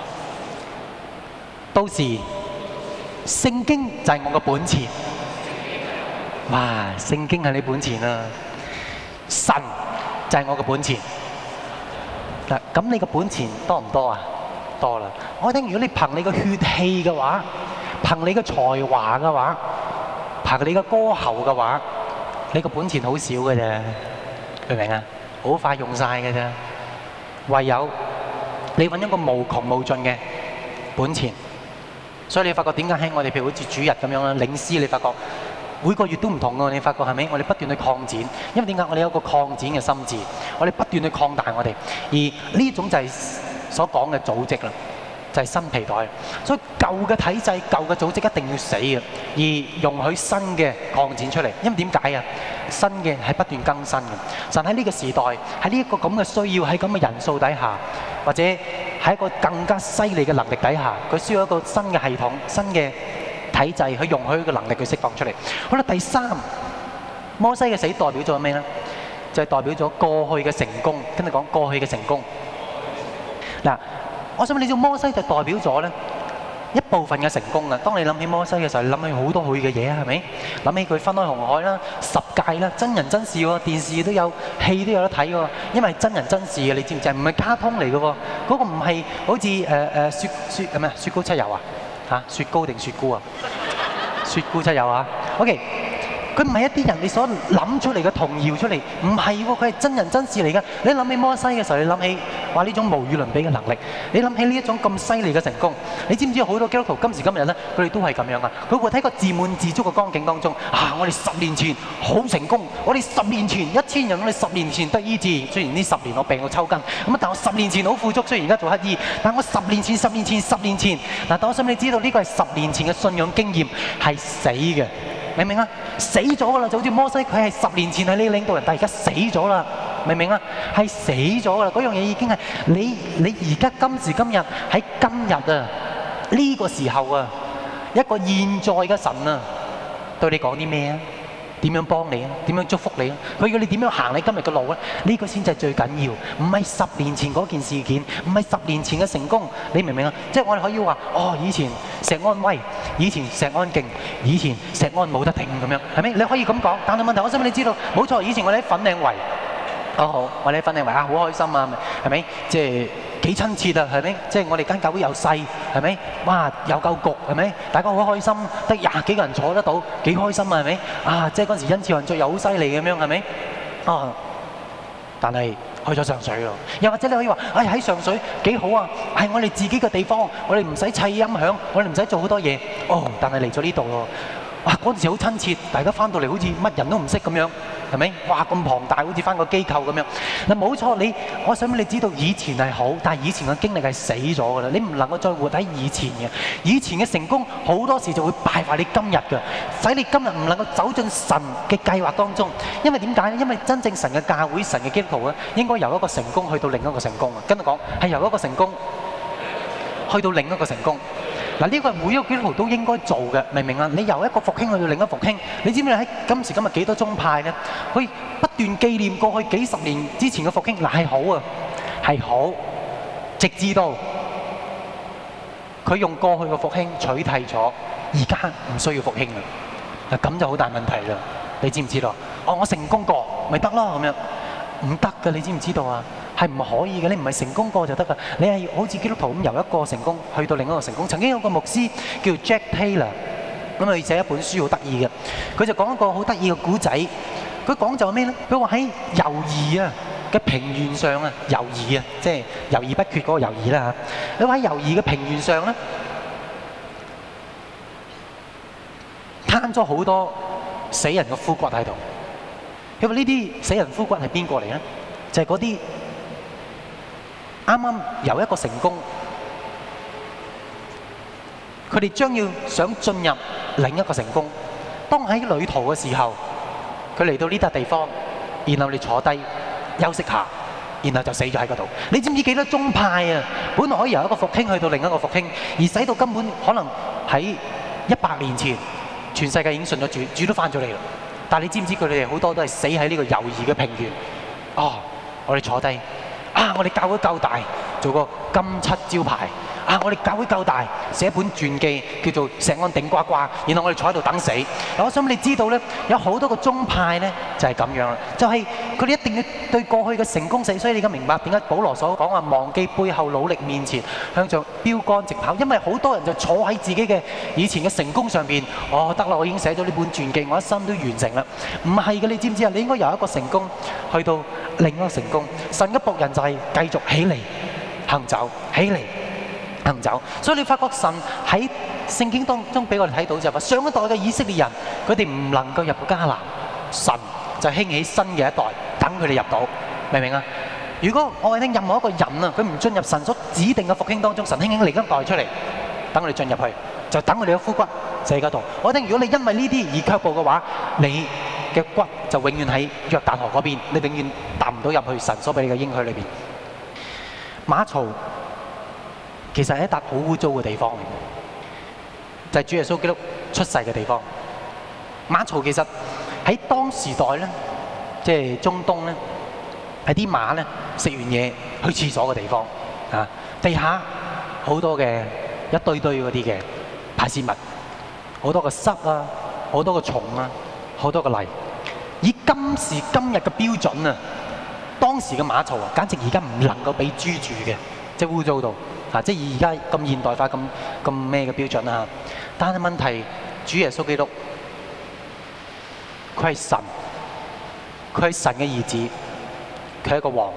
到時聖經就係我嘅本錢。哇！聖經係你本錢啊！神就係我嘅本錢。嗱，咁你嘅本錢多唔多啊？多啦！我聽，如果你憑你嘅血氣嘅話，憑你嘅才華嘅話，憑你嘅歌喉嘅話，你個本錢好少嘅啫，明唔明啊？好快用晒嘅啫。唯有你揾一個無窮無盡嘅本錢，所以你發覺點解喺我哋譬如好似主日咁樣啦，領詩你發覺每個月都唔同嘅，你發覺係咪？我哋不斷去擴展，因為點解？我哋有一個擴展嘅心智，我哋不斷去擴大我哋，而呢種就係所講嘅組織啦。就係新皮袋，所以舊嘅體制、舊嘅組織一定要死嘅，而容許新嘅擴展出嚟。因為點解啊？新嘅係不斷更新嘅。神喺呢個時代，喺呢一個咁嘅需要，喺咁嘅人數底下，或者喺一個更加犀利嘅能力底下，佢需要一個新嘅系統、新嘅體制去容許佢嘅能力去釋放出嚟。好啦，第三，摩西嘅死代表咗咩咧？就係代表咗過去嘅成功。跟你講過去嘅成功。嗱。我想問你知摩西就代表咗咧一部分嘅成功啊！當你諗起摩西嘅時候，你諗起好多佢嘅嘢啊，係咪？諗起佢分開紅海啦、十誡啦、真人真事喎，電視都有，戲都有得睇喎。因為真人真事嘅，你知唔知啊？唔係卡通嚟嘅喎，嗰個唔係好似誒誒雪雪係咩雪糕七友啊？嚇雪糕定雪糕啊？雪糕七友啊 ？OK。佢唔係一啲人你所諗出嚟嘅童謠出嚟，唔係喎，佢係真人真事嚟嘅。你諗起摩西嘅時候，你諗起話呢種無與倫比嘅能力，你諗起呢一種咁犀利嘅成功，你知唔知好多基督徒今時今日咧，佢哋都係咁樣啊！佢會喺個自滿自足嘅光景當中，啊！我哋十年前好成功，我哋十年前一千人，我哋十年前得醫治。雖然呢十年我病到抽筋，咁啊，但我十年前好富足，雖然而家做乞兒，但我十年前、十年前、十年前嗱，但我想你知道呢個係十年前嘅信仰經驗係死嘅。 明唔明啊？死咗噶啦，就好似摩西，佢係十年前係你領導人，但係而家死咗啦，明唔明啊？係死咗噶啦，嗰樣嘢已經係你你而家今時今日喺今日啊呢個時候啊，一個現在嘅神啊，對你講啲咩啊？點樣幫你啊？點樣祝福你啊？佢要你點樣行你今日嘅路咧？呢個先至係最緊要，唔係十年前嗰件事件，唔係十年前嘅成功，你明唔明啊？即係我哋可以話，哦，以前石安威，以前石安勁，以前石安冇得頂咁樣，係咪？你可以咁講，但係問題，我想俾你知道，冇錯，以前我哋喺粉嶺圍，哦好，我哋喺粉嶺圍啊，好開心啊，係咪？即係。幾親切啊，係咪？即係我哋間教會又細，係咪？哇，又夠焗，係咪？大家好開心，得廿幾個人坐得到，幾開心啊，係咪？啊，即係嗰陣時恩賜運作又好犀利咁樣，係咪？啊，但係去咗上水咯。又或者你可以話，哎喺上水幾好啊，係我哋自己嘅地方，我哋唔使砌音響，我哋唔使做好多嘢。哦，但係嚟咗呢度咯，哇！嗰陣時好親切，大家翻到嚟好似乜人都唔識咁樣。係咪？哇！咁龐大，好似翻個機構咁樣。嗱，冇錯，你我想俾你知道，以前係好，但係以前嘅經歷係死咗㗎啦。你唔能夠再活喺以前嘅。以前嘅成功好多時就會敗壞你今日嘅，使你今日唔能夠走進神嘅計劃當中。因為點解咧？因為真正神嘅教會、神嘅基督徒咧，應該由一個成功去到另一個成功啊。跟住講係由一個成功去到另一個成功。嗱，呢個係每一個基督徒都應該做嘅，明唔明啊？你由一個復興去到另一個復興，你知唔知喺今時今日幾多宗派咧？可以不斷紀念過去幾十年之前嘅復興，嗱係好啊，係好，直至到佢用過去嘅復興取替咗，而家唔需要復興啦。嗱，咁就好大問題啦，你知唔知道？哦，我成功過咪得咯咁樣，唔得㗎，你知唔知道啊？係唔可以嘅，你唔係成功過就得㗎，你係好似基督徒咁由一個成功去到另一個成功。曾經有個牧師叫 Jack Taylor，咁佢寫一本書好得意嘅，佢就講一個好得意嘅古仔。佢講就係咩咧？佢話喺猶豫啊嘅平原上啊，猶豫啊，即係猶豫不決嗰個猶豫啦嚇。佢話喺猶豫嘅平原上咧，攤咗好多死人嘅枯骨喺度。佢話呢啲死人枯骨係邊個嚟咧？就係嗰啲啱啱由一個成功，佢哋將要想進入另一個成功。當喺旅途嘅時候，佢嚟到呢笪地方，然後你坐低休息下，然後就死咗喺嗰度。你知唔知幾多宗派啊？本來可以由一個復興去到另一個復興，而使到根本可能喺一百年前，全世界已經信咗主，主都翻咗嚟啦。但係你知唔知佢哋好多都係死喺呢個猶豫嘅平原？哦，我哋坐低。啊！我哋教會夠大，做個金漆招牌。啊！我哋教會夠大，寫一本傳記叫做《石安頂呱呱》，然後我哋坐喺度等死。我想你知道咧，有好多個宗派咧就係咁樣啦，就係佢哋一定要對過去嘅成功死。所以你而家明白點解保羅所講話忘記背後，努力面前，向着標竿直跑。因為好多人就坐喺自己嘅以前嘅成功上邊，哦得啦，我已經寫咗呢本傳記，我一生都完成啦。唔係嘅，你知唔知啊？你應該由一個成功去到另一個成功。神嘅僕人就係繼續起嚟行走，起嚟行走。所以你發覺神喺聖經當中俾我哋睇到就係話，上一代嘅以色列人佢哋唔能夠入到迦南，神就興起新嘅一代等佢哋入到，明唔明啊？如果我哋聽任何一個人啊，佢唔進入神所指定嘅復興當中，神興起另一代出嚟等佢哋進入去，就等佢哋嘅枯骨就喺嗰度。我聽如果你因為呢啲而卻步嘅話，你嘅骨就永遠喺約旦河嗰邊，你永遠踏唔到入去神所俾你嘅應許裏邊。馬槽其實係一笪好污糟嘅地方嚟嘅，就係主耶穌基督出世嘅地方。馬槽其實喺當時代咧，即係中東咧，係啲馬咧食完嘢去廁所嘅地方啊。地下好多嘅一堆堆嗰啲嘅排泄物，好多個虱啊，好多個蟲啊，好多個泥。以今時今日嘅標準啊，當時嘅馬槽啊，簡直而家唔能夠俾豬住嘅，即係污糟到啊！即係以而家咁現代化、咁咁咩嘅標準啊！但係問題，主耶穌基督，佢係神，佢係神嘅兒子，佢係一個王。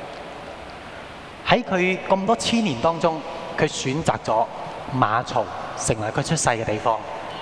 喺佢咁多千年當中，佢選擇咗馬槽成為佢出世嘅地方。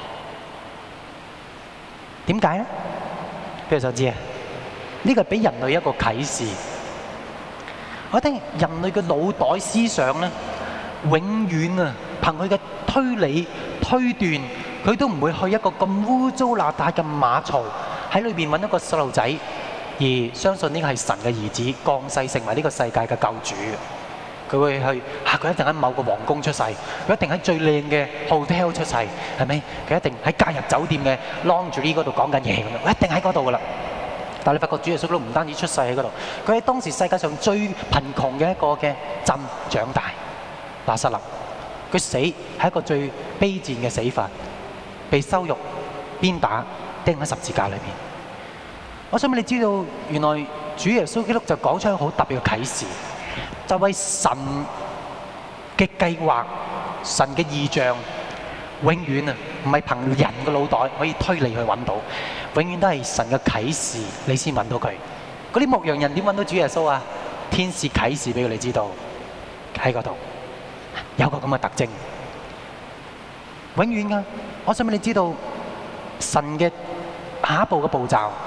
點解咧？邊個想知啊？呢個係俾人類一個啟示。我聽人類嘅腦袋思想咧，永遠啊，憑佢嘅推理、推斷、 佢都唔會去一個咁污糟邋遢嘅馬槽喺裏邊揾一個細路仔，而相信呢個係神嘅兒子降世成為呢個世界嘅救主。佢會去嚇，佢一定喺某個皇宮出世，佢一定喺最靚嘅 hotel 出世，係咪？佢一定喺假日酒店嘅 laundry 嗰度講緊嘢咁樣，一定喺嗰度噶啦。但係你發覺主耶穌都唔單止出世喺嗰度，佢喺當時世界上最貧窮嘅一個嘅鎮長大，拿撒勒。佢死係一個最卑賤嘅死法，被羞辱、鞭打、釘喺十字架裏邊。我想俾你知道，原來主耶穌基督就講出一個好特別嘅啟示，就為神嘅計劃、神嘅異象，永遠啊唔係憑人嘅腦袋可以推理去揾到，永遠都係神嘅啟示，你先揾到佢。嗰啲牧羊人點揾到主耶穌啊？天使啟示俾佢哋知道喺嗰度。有個咁嘅特徵，永遠㗎。我想俾你知道，神嘅下一步嘅步驟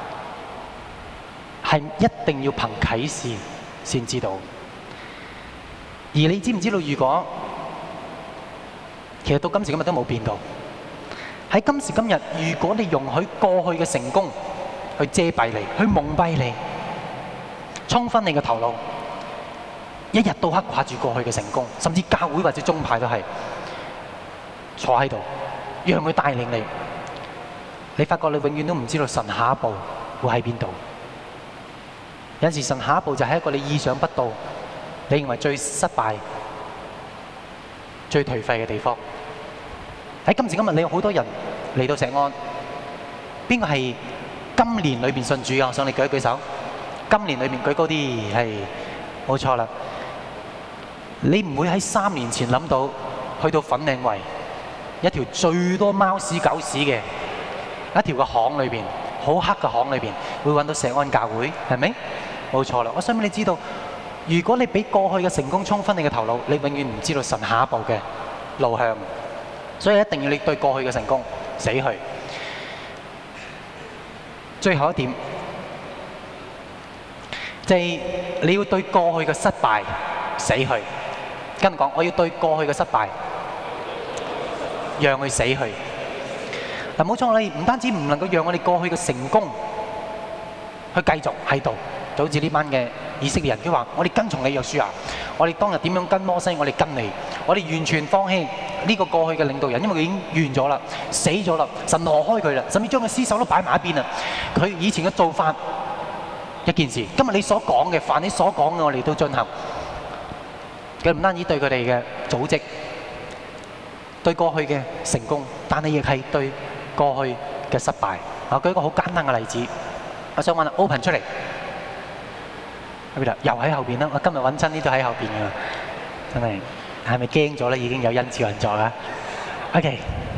係一定要憑啟示先知道。而你知唔知道？如果其實到今時今日都冇變到，喺今時今日，如果你容許過去嘅成功去遮蔽你、去蒙蔽你、沖昏你嘅頭腦，一日到黑掛住過去嘅成功，甚至教會或者宗派都係坐喺度，讓佢帶領你。你發覺你永遠都唔知道神下一步會喺邊度。有陣時神下一步就係一個你意想不到，你認為最失敗、最頹廢嘅地方。喺今時今日，你有好多人嚟到石安，邊個係今年裏邊信主啊？我想你舉一舉手。今年裏面舉高啲，係冇錯啦。你唔會喺三年前諗到去到粉嶺圍一條最多貓屎狗屎嘅一條個巷裏邊，好黑嘅巷裏邊，會揾到石安教會，係咪？冇錯啦。我想俾你知道，如果你俾過去嘅成功沖昏你嘅頭腦，你永遠唔知道神下一步嘅路向。所以一定要你對過去嘅成功死去。最後一點就係你要對過去嘅失敗死去。跟住講，我要對過去嘅失敗讓佢死去。嗱，冇錯，我哋唔單止唔能夠讓我哋過去嘅成功去繼續喺度，就好似呢班嘅以色列人，佢話：我哋跟從你約書亞，我哋當日點樣跟摩西，我哋跟你，我哋完全放棄呢個過去嘅領導人，因為佢已經完咗啦，死咗啦，神挪開佢啦，甚至將佢屍首都擺埋一邊啦。佢以前嘅做法一件事，今日你所講嘅，凡你所講嘅，我哋都進行。佢唔單止對佢哋嘅組織、對過去嘅成功，但係亦係對過去嘅失敗。我舉一個好簡單嘅例子，我想揾 Open 出嚟，喺邊度？又喺後邊啦。我今日揾親呢都喺後邊㗎，真係係咪驚咗咧？已經有恩賜運作啦。OK，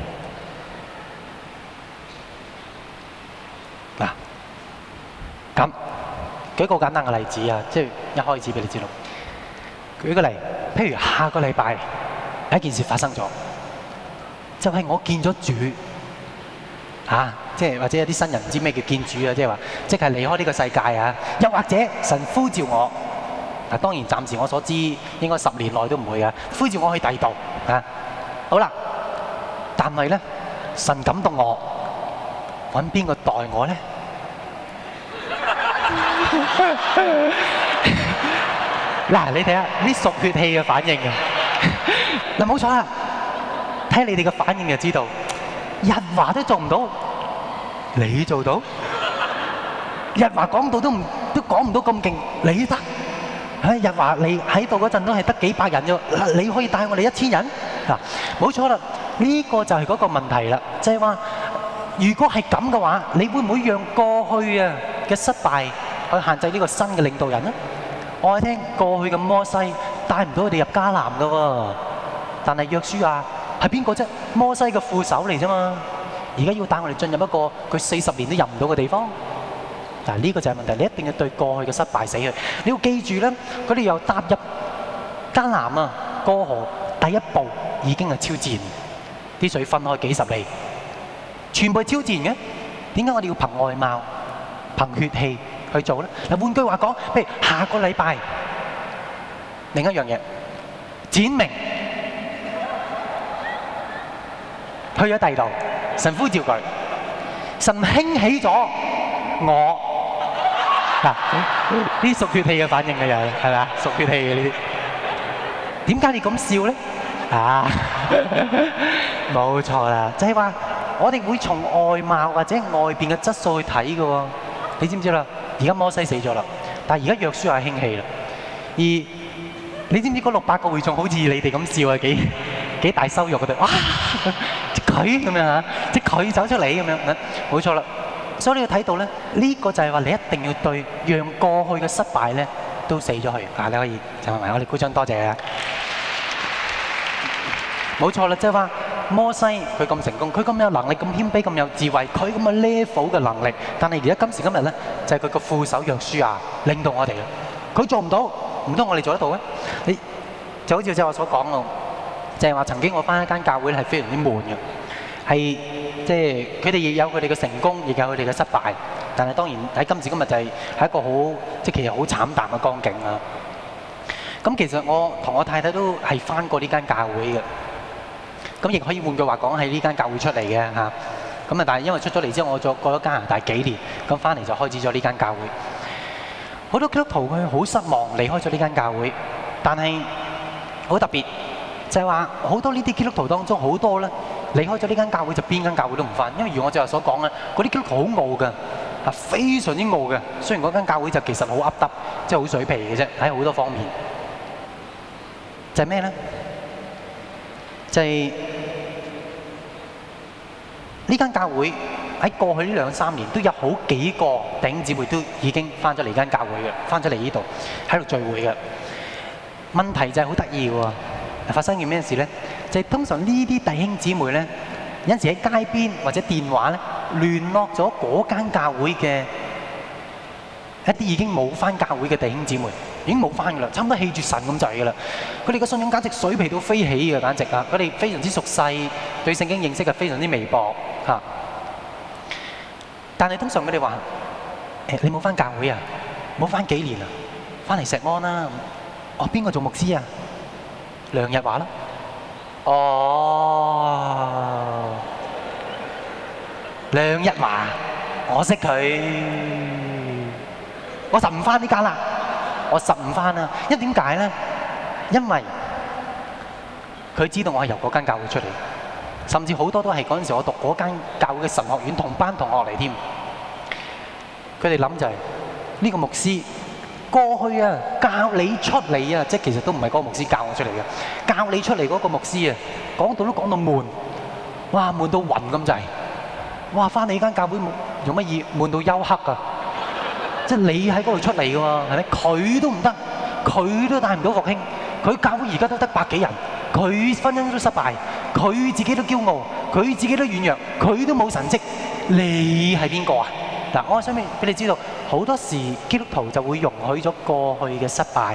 嗱，咁舉一個簡單嘅例子啊，即係一開始俾你知道。舉個例，譬如下個禮拜有一件事發生咗，就係、是、我見咗主啊，即係或者有啲新人唔知咩叫見主啊，即係話即係離開呢個世界啊，又或者神呼召我，嗱、啊、當然暫時我所知應該十年內都唔會啊，呼召我去第二度啊，好啦，但係咧神感動我，揾邊個代我咧？嗱，你睇下啲屬血氣嘅反應啊！嗱，冇錯啦，睇你哋嘅反應就知道，日華都做唔到，你做到？日華講到都唔都講唔到咁勁，你得？唉，日華你喺度嗰陣都係得幾百人啫，你可以帶我哋一千人？嗱，冇錯啦，呢個就係嗰個問題啦，就係話，如果係咁嘅話，你會唔會讓過去啊嘅失敗去限制呢個新嘅領導人呢？我聽過去嘅摩西帶唔到佢哋入迦南㗎喎，但係約書亞係邊個啫？摩西嘅副手嚟啫嘛。而家要帶我哋進入一個佢四十年都入唔到嘅地方。嗱，呢個就係問題，你一定要對過去嘅失敗死去。你要記住咧，佢哋又踏入迦南啊，過河第一步已經係超自然，啲水分開幾十里，全部係超自然嘅。點解我哋要憑外貌、憑血氣去做咧？嗱，換句話講，譬如下個禮拜，另一樣嘢，展明去咗第二度，神呼召佢，神興起咗我。嗱，呢啲屬血氣嘅反應嘅又係，係咪啊？屬血氣嘅呢啲。點解你咁笑咧？啊，冇錯啦，就係話我哋會從外貌或者外邊嘅質素去睇嘅喎。你知唔知啦？而家摩西死咗啦，但係而家約書亞興起啦。而你知唔知嗰六百個會眾好似你哋咁笑啊？幾幾大羞辱佢哋，哇！佢咁樣嚇，即係佢走出嚟咁樣，冇錯啦。所以你要睇到咧，呢個就係話你一定要對讓過去嘅失敗咧都死咗去。啊，你可以就埋我哋鼓掌，多謝啊！冇錯啦，即係話摩西佢咁成功，佢咁有能力，咁謙卑，咁有智慧，佢咁嘅 level 嘅能力，但係而家今時今日咧，就係佢個副手約書亞領導我哋啦。佢做唔到，唔通我哋做得到咩？你就好似即係我所講咯，就係話曾經我返一間教會係非常之悶嘅，係即係佢哋亦有佢哋嘅成功，亦有佢哋嘅失敗，但係當然喺今時今日就係係一個好即係其實好慘淡嘅光景啦。咁其實我同我太太都係返過呢間教會嘅。咁亦可以換句話講，喺呢間教會出嚟嘅嚇。咁啊，但係因為出咗嚟之後，我再過咗加拿大幾年，咁翻嚟就開始咗呢間教會。好多基督徒佢好失望離開咗呢間教會，但係好特別就係話好多呢啲基督徒當中好多咧離開咗呢間教會就邊間教會都唔翻，因為如我最後所講咧，嗰啲基督徒好傲嘅，啊非常之傲嘅。雖然嗰間教會就其實好噏得，即係好水皮嘅啫，喺好多方面。就係咩咧？就係呢間教會喺過去呢兩三年都有好幾個弟兄姊妹都已經翻咗嚟間教會嘅，翻咗嚟呢度喺度聚會嘅。問題就係好得意嘅喎，發生件咩事咧？就係通常呢啲弟兄姊妹咧，有陣時喺街邊或者電話咧聯絡咗嗰間教會嘅一啲已經冇翻教會嘅弟兄姊妹。已經冇翻㗎啦，差唔多棄絕神咁滯㗎啦。佢哋嘅信仰簡直水皮到飛起嘅，簡直啊！佢哋非常之熟細，對聖經認識係非常之微薄嚇。但係通常佢哋話：誒，你冇翻教會啊？冇翻幾年啊？翻嚟石安啦！哦，邊個做牧師啊？梁日華啦。哦，梁日華，我識佢，我實唔翻呢間啦。我實唔翻啦，因為點解咧？因為佢知道我係由嗰間教會出嚟，甚至好多都係嗰陣時我讀嗰間教會嘅神學院同班同學嚟添。佢哋諗就係呢個牧師過去啊教你出嚟啊，即係其實都唔係嗰個牧師教我出嚟嘅，教你出嚟嗰個牧師啊，講到都講到悶，哇悶到暈咁滯，哇翻你間教會用乜嘢悶到休克啊！即係你喺嗰度出嚟嘅喎，係咪？佢都唔得，佢都帶唔到復興。佢教會而家都得百幾人，佢婚姻都失敗，佢自己都驕傲，佢自己都軟弱，佢都冇神蹟。你係邊個啊？嗱，我想俾你知道，好多時基督徒就會容許咗過去嘅失敗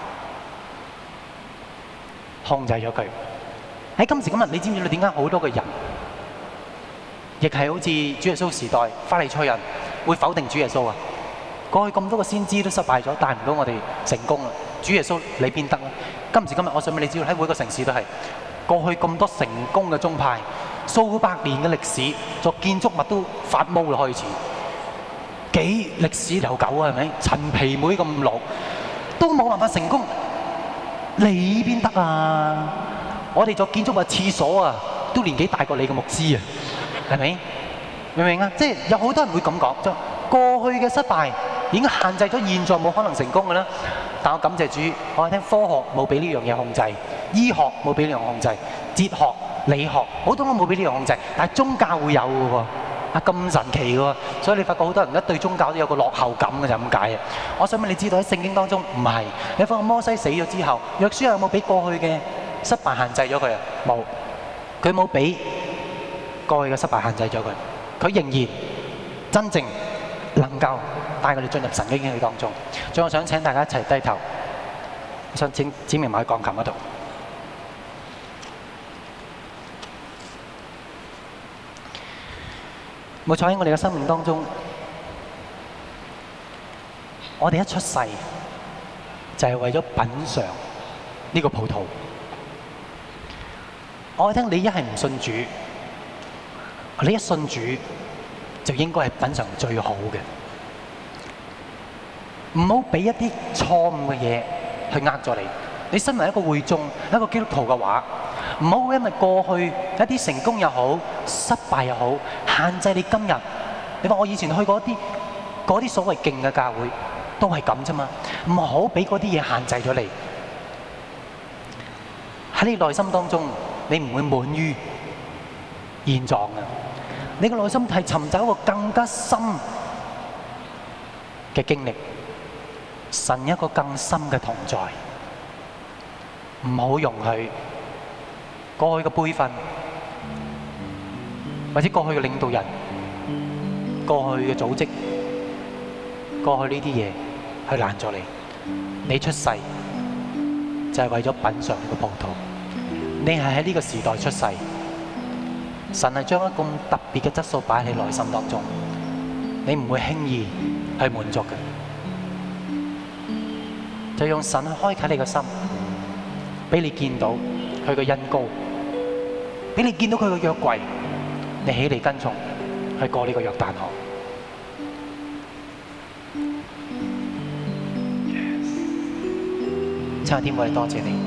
控制咗佢。喺今時今日，你知唔知道點解好多嘅人，亦係好似主耶穌時代法利賽人會否定主耶穌啊？過去咁多個先知都失敗咗，帶唔到我哋成功啦。主耶穌你邊得啦？今時今日，我想俾你知道，喺每個城市都係過去咁多成功嘅宗派，數百年嘅歷史，作建築物都發毛啦，開始幾歷史悠久啊，係咪？陳皮妹咁老都冇辦法成功，你邊得啊？我哋作建築物廁所啊，都年紀大過你嘅牧師啊，係咪？明唔明啊？即係有好多人會咁講，就過去嘅失敗已經限制咗現在冇可能成功嘅啦。但我感謝主，我係聽科學冇俾呢樣嘢控制，醫學冇俾呢樣控制，哲學、理學好多都冇俾呢樣控制，但係宗教會有嘅喎，啊咁神奇嘅喎，所以你發覺好多人一對宗教都有個落後感嘅就咁解嘅。我想問你知道喺聖經當中唔係，你發覺摩西死咗之後，約書亞有冇俾過去嘅失敗限制咗佢啊？冇，佢冇俾過去嘅失敗限制咗佢，佢仍然真正能夠帶佢哋進入神嘅應許當中。最後我想請大家一齊低頭，我想請指明埋喺鋼琴嗰度。冇錯，喺我哋嘅生命當中，我哋一出世就係為咗品嚐呢個葡萄。我聽你一係唔信主， 你一信主就應該係品嚐最好嘅，唔好俾一啲錯誤嘅嘢去呃咗你。你身為一個會眾、一個基督徒嘅話，唔好因為過去一啲成功又好、失敗又好，限制你今日。你話我以前去過一啲嗰啲所謂勁嘅教會，都係咁啫嘛。唔好俾嗰啲嘢限制咗你。喺你內心當中，你唔會滿於現狀嘅。你嘅內心係尋找一個更加深嘅經歷，神一個更深嘅同在。唔好容許過去嘅輩分，或者過去嘅領導人、過去嘅組織、過去呢啲嘢去攔咗你。你出世就係為咗品嚐呢個葡萄，你係喺呢個時代出世，神係將一個咁特別嘅質素擺喺你內心當中，你唔會輕易去滿足嘅。就用神去開啟你嘅心，俾你見到佢嘅恩膏，俾你見到佢嘅約櫃，你起嚟跟從，去過呢個約旦河。親愛的天父，我哋多謝你。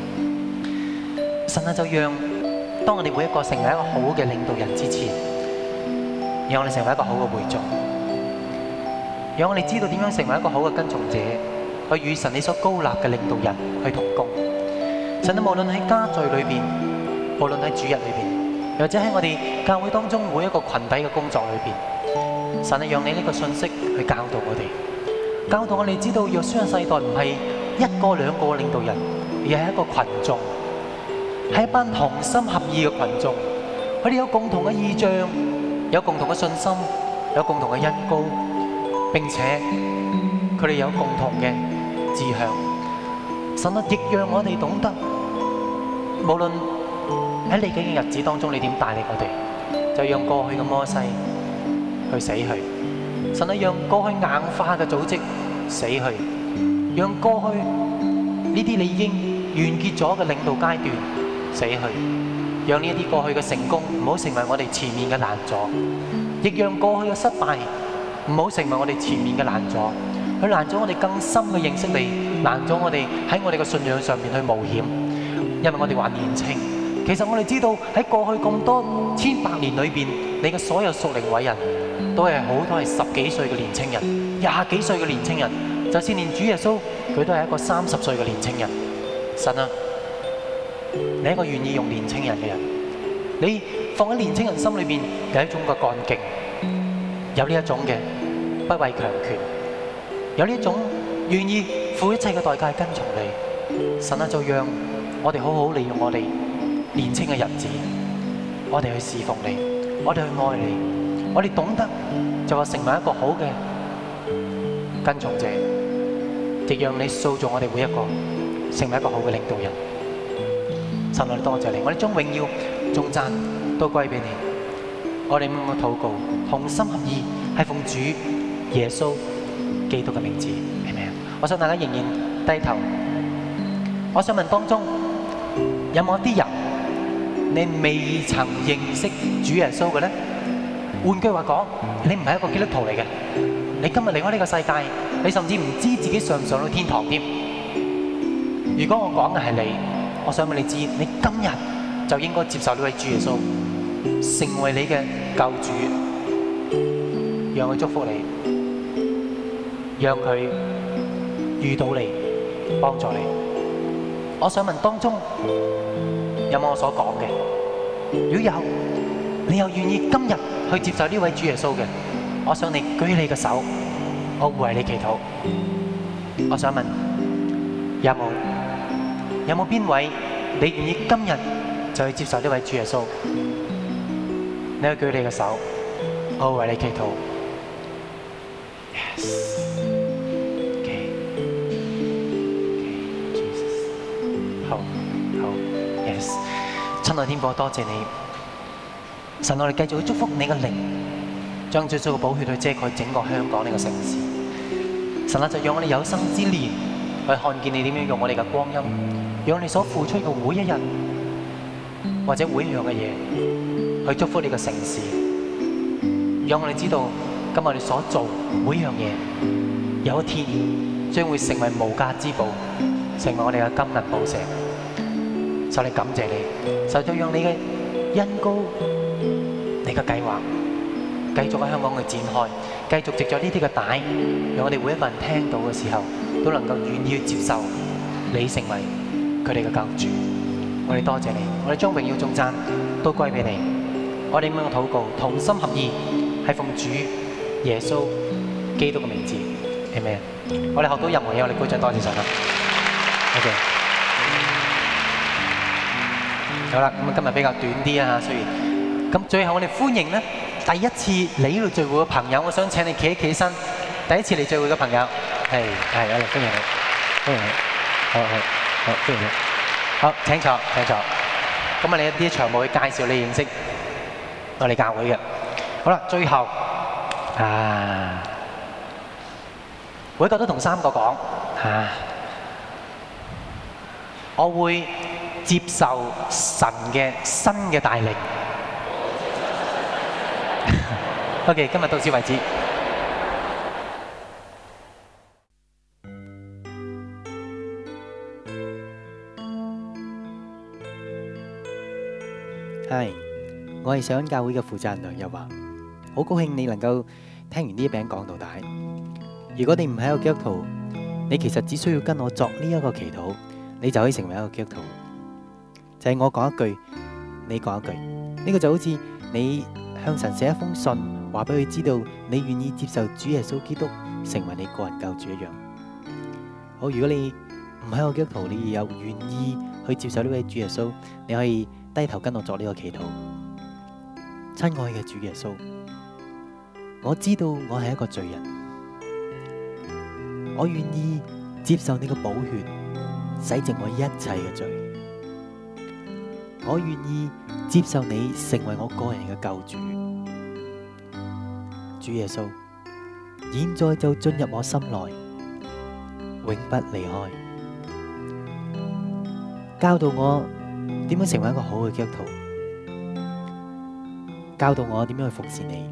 神啊，就讓當我哋每一個成為一個好嘅領導人之前，讓我哋成為一個好嘅會眾，讓我哋知道點樣成為一個好嘅跟從者，去與神你所高立嘅領導人去同工。神啊，無論喺家聚裏邊，無論喺主日裏邊，又或者喺我哋教會當中每一個群體嘅工作裏邊，神啊，讓你呢個信息去教導我哋，教導我哋知道約書亞世代唔係一個兩個領導人，而係一個群眾，係一班同心合意嘅群眾。佢哋有共同嘅意象，有共同嘅信心，有共同嘅恩膏，並且佢哋有共同嘅志向。神啊，亦讓我哋懂得，無論喺你嘅日子當中，你點帶領我哋，就讓過去嘅摩西去死去。神啊，讓過去硬化嘅組織死去。讓過去呢啲你已經完結咗嘅領導階段死去，讓呢一啲過去嘅成功唔好成為我哋前面嘅攔阻，亦讓過去嘅失敗唔好成為我哋前面嘅攔阻，去攔阻我哋更深嘅認識你，攔阻我哋喺我哋嘅信仰上面去冒險，因為我哋還年輕。其實我哋知道喺過去咁多千百年裏邊，你嘅所有屬靈偉人都係好多係十幾歲嘅年輕人，廿幾歲嘅年輕人。就算連主耶穌，佢都係一個三十歲嘅年青人。神啊，你係一個願意用年青人嘅人，你放喺年青人心裏邊有一種嘅幹勁，有呢一種嘅不畏強權，有呢一種願意付一切嘅代價跟從你。神啊，就讓我哋好好利用我哋年青嘅日子，我哋去侍奉你，我哋去愛你，我哋懂得就話成為一個好嘅跟從者。亦讓你塑造我哋每一個成為一個好嘅領導人。神啊，多謝你，我哋將榮耀、頌讚都歸俾你。我哋咁樣禱告，同心合意，係奉主耶穌基督嘅名字，係咪啊？我想大家仍然低頭。我想問當中有冇一啲人你未曾認識主耶穌嘅咧？換句話講，你唔係一個基督徒嚟嘅。你今日離開呢個世界，你甚至唔知自己上唔上到天堂添。如果我講嘅係你，我想俾你知，你今日就應該接受呢位主耶穌，成為你嘅救主，讓佢祝福你，讓佢遇到你，幫助你。我想問當中有冇我所講嘅？如果有，你又願意今日去接受呢位主耶穌嘅？我想你舉起你嘅手，我會為你祈禱。我想問，有冇有冇邊位你願意今日就去接受呢位主耶穌？你去舉你嘅手，我會為你祈禱。Yes. Okay. Okay. Jesus. 好，好。Yes. 親愛天父，多謝你，神，我哋繼續去祝福你嘅靈。將最主嘅寶血去遮蓋整個香港呢個城市，神啊，就讓我哋有生之年去看見你點樣用我哋嘅光陰，讓我哋所付出嘅每一日或者每一樣嘅嘢去祝福呢個城市。 讓我哋知道今日我哋所做每樣嘢，有一天將會成為無價之寶，成為我哋嘅金銀寶石。就嚟感謝你，就再讓你嘅恩膏、你嘅計劃繼續喺香港去展開，繼續藉著呢啲嘅帶，讓我哋每一個人聽到嘅時候，都能夠願意去接受你成為佢哋嘅救主。我哋多謝你，我哋將榮耀頌讚都歸俾你。我哋咁樣嘅禱告，同心合意，係奉主耶穌基督嘅名字，係咪？我哋學到任何嘢，我哋鼓掌多謝神啦。OK。好啦，咁啊今日比較短啲啊，雖然咁最後我哋歡迎咧第一次嚟呢度聚會嘅朋友，我想請你企一企身。第一次嚟聚會嘅朋友，係係，我哋歡迎你，歡迎你，好好好，歡迎你，好請坐請坐。咁啊，你一啲場務去介紹你認識我哋教會嘅。好啦，最後啊，每一個都同三個講啊，我會接受神嘅新嘅帶領。OK， 今日到此為止。 係，我係上恩教會嘅負責人梁日華，好高興你能夠聽完呢一餅講到底。如果你唔係一個基督徒，你其實只需要跟我作呢一個祈禱，你就可以成為一個基督徒。就係我講一句，你講一句，呢個就好似你向神寫一封信，話俾佢知道你願意接受主耶穌基督成為你個人救主一樣。好，如果你唔係一個基督徒，你又願意去接受呢位主耶穌，你可以低頭跟我作呢個祈禱。親愛嘅主耶穌，我知道我係一個罪人，我願意接受你嘅寶血洗淨我一切嘅罪。我願意接受你成為我個人嘅救主，主耶穌，現在就進入我心內，永不離開，教導我點樣成為一個好嘅基督徒，教導我點樣去服侍你。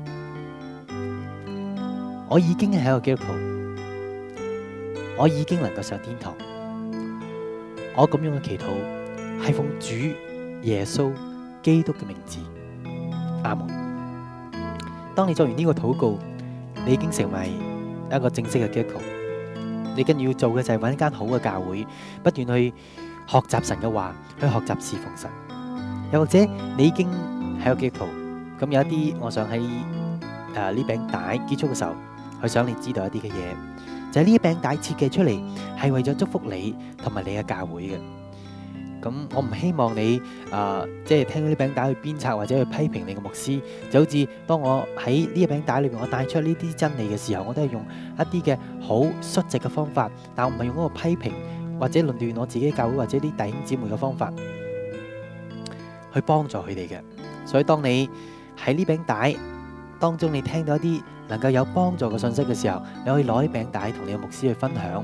我已經係一個基督徒，我已經能夠上天堂。我咁樣嘅祈禱係奉主耶穌基督嘅名字，阿門。當你做完呢個禱告，你已經成為一個正式嘅基督徒。你跟住要做嘅就係揾一間好嘅教會，不斷去學習神嘅話，去學習侍奉神。又或者你已經係個基督徒，咁有一啲，我想喺誒呢餅帶結束嘅時候，去想你知道一啲嘅嘢，就係呢一餅帶設計出嚟係為咗祝福你同埋你嘅教會嘅。咁我唔希望你啊，即係聽到呢餅帶去鞭策或者去批評你嘅牧師，就好似當我喺呢一餅帶裏邊，我帶出呢啲真理嘅時候，我都係用一啲嘅好率直嘅方法，但我唔係用嗰個批評或者論斷我自己教會或者啲弟兄姊妹嘅方法去幫助佢哋嘅。所以當你喺呢餅帶當中，你聽到一啲能夠有幫助嘅信息嘅時候，你可以攞呢餅帶同你嘅牧師去分享。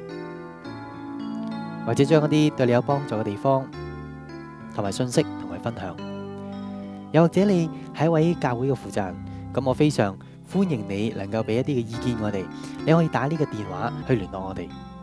或者將一啲對你有幫助嘅地方同埋信息同佢分享，又或者你係一位教會嘅負責人，咁我非常歡迎你能夠俾一啲嘅意見我哋，你可以打呢個電話去聯絡我哋，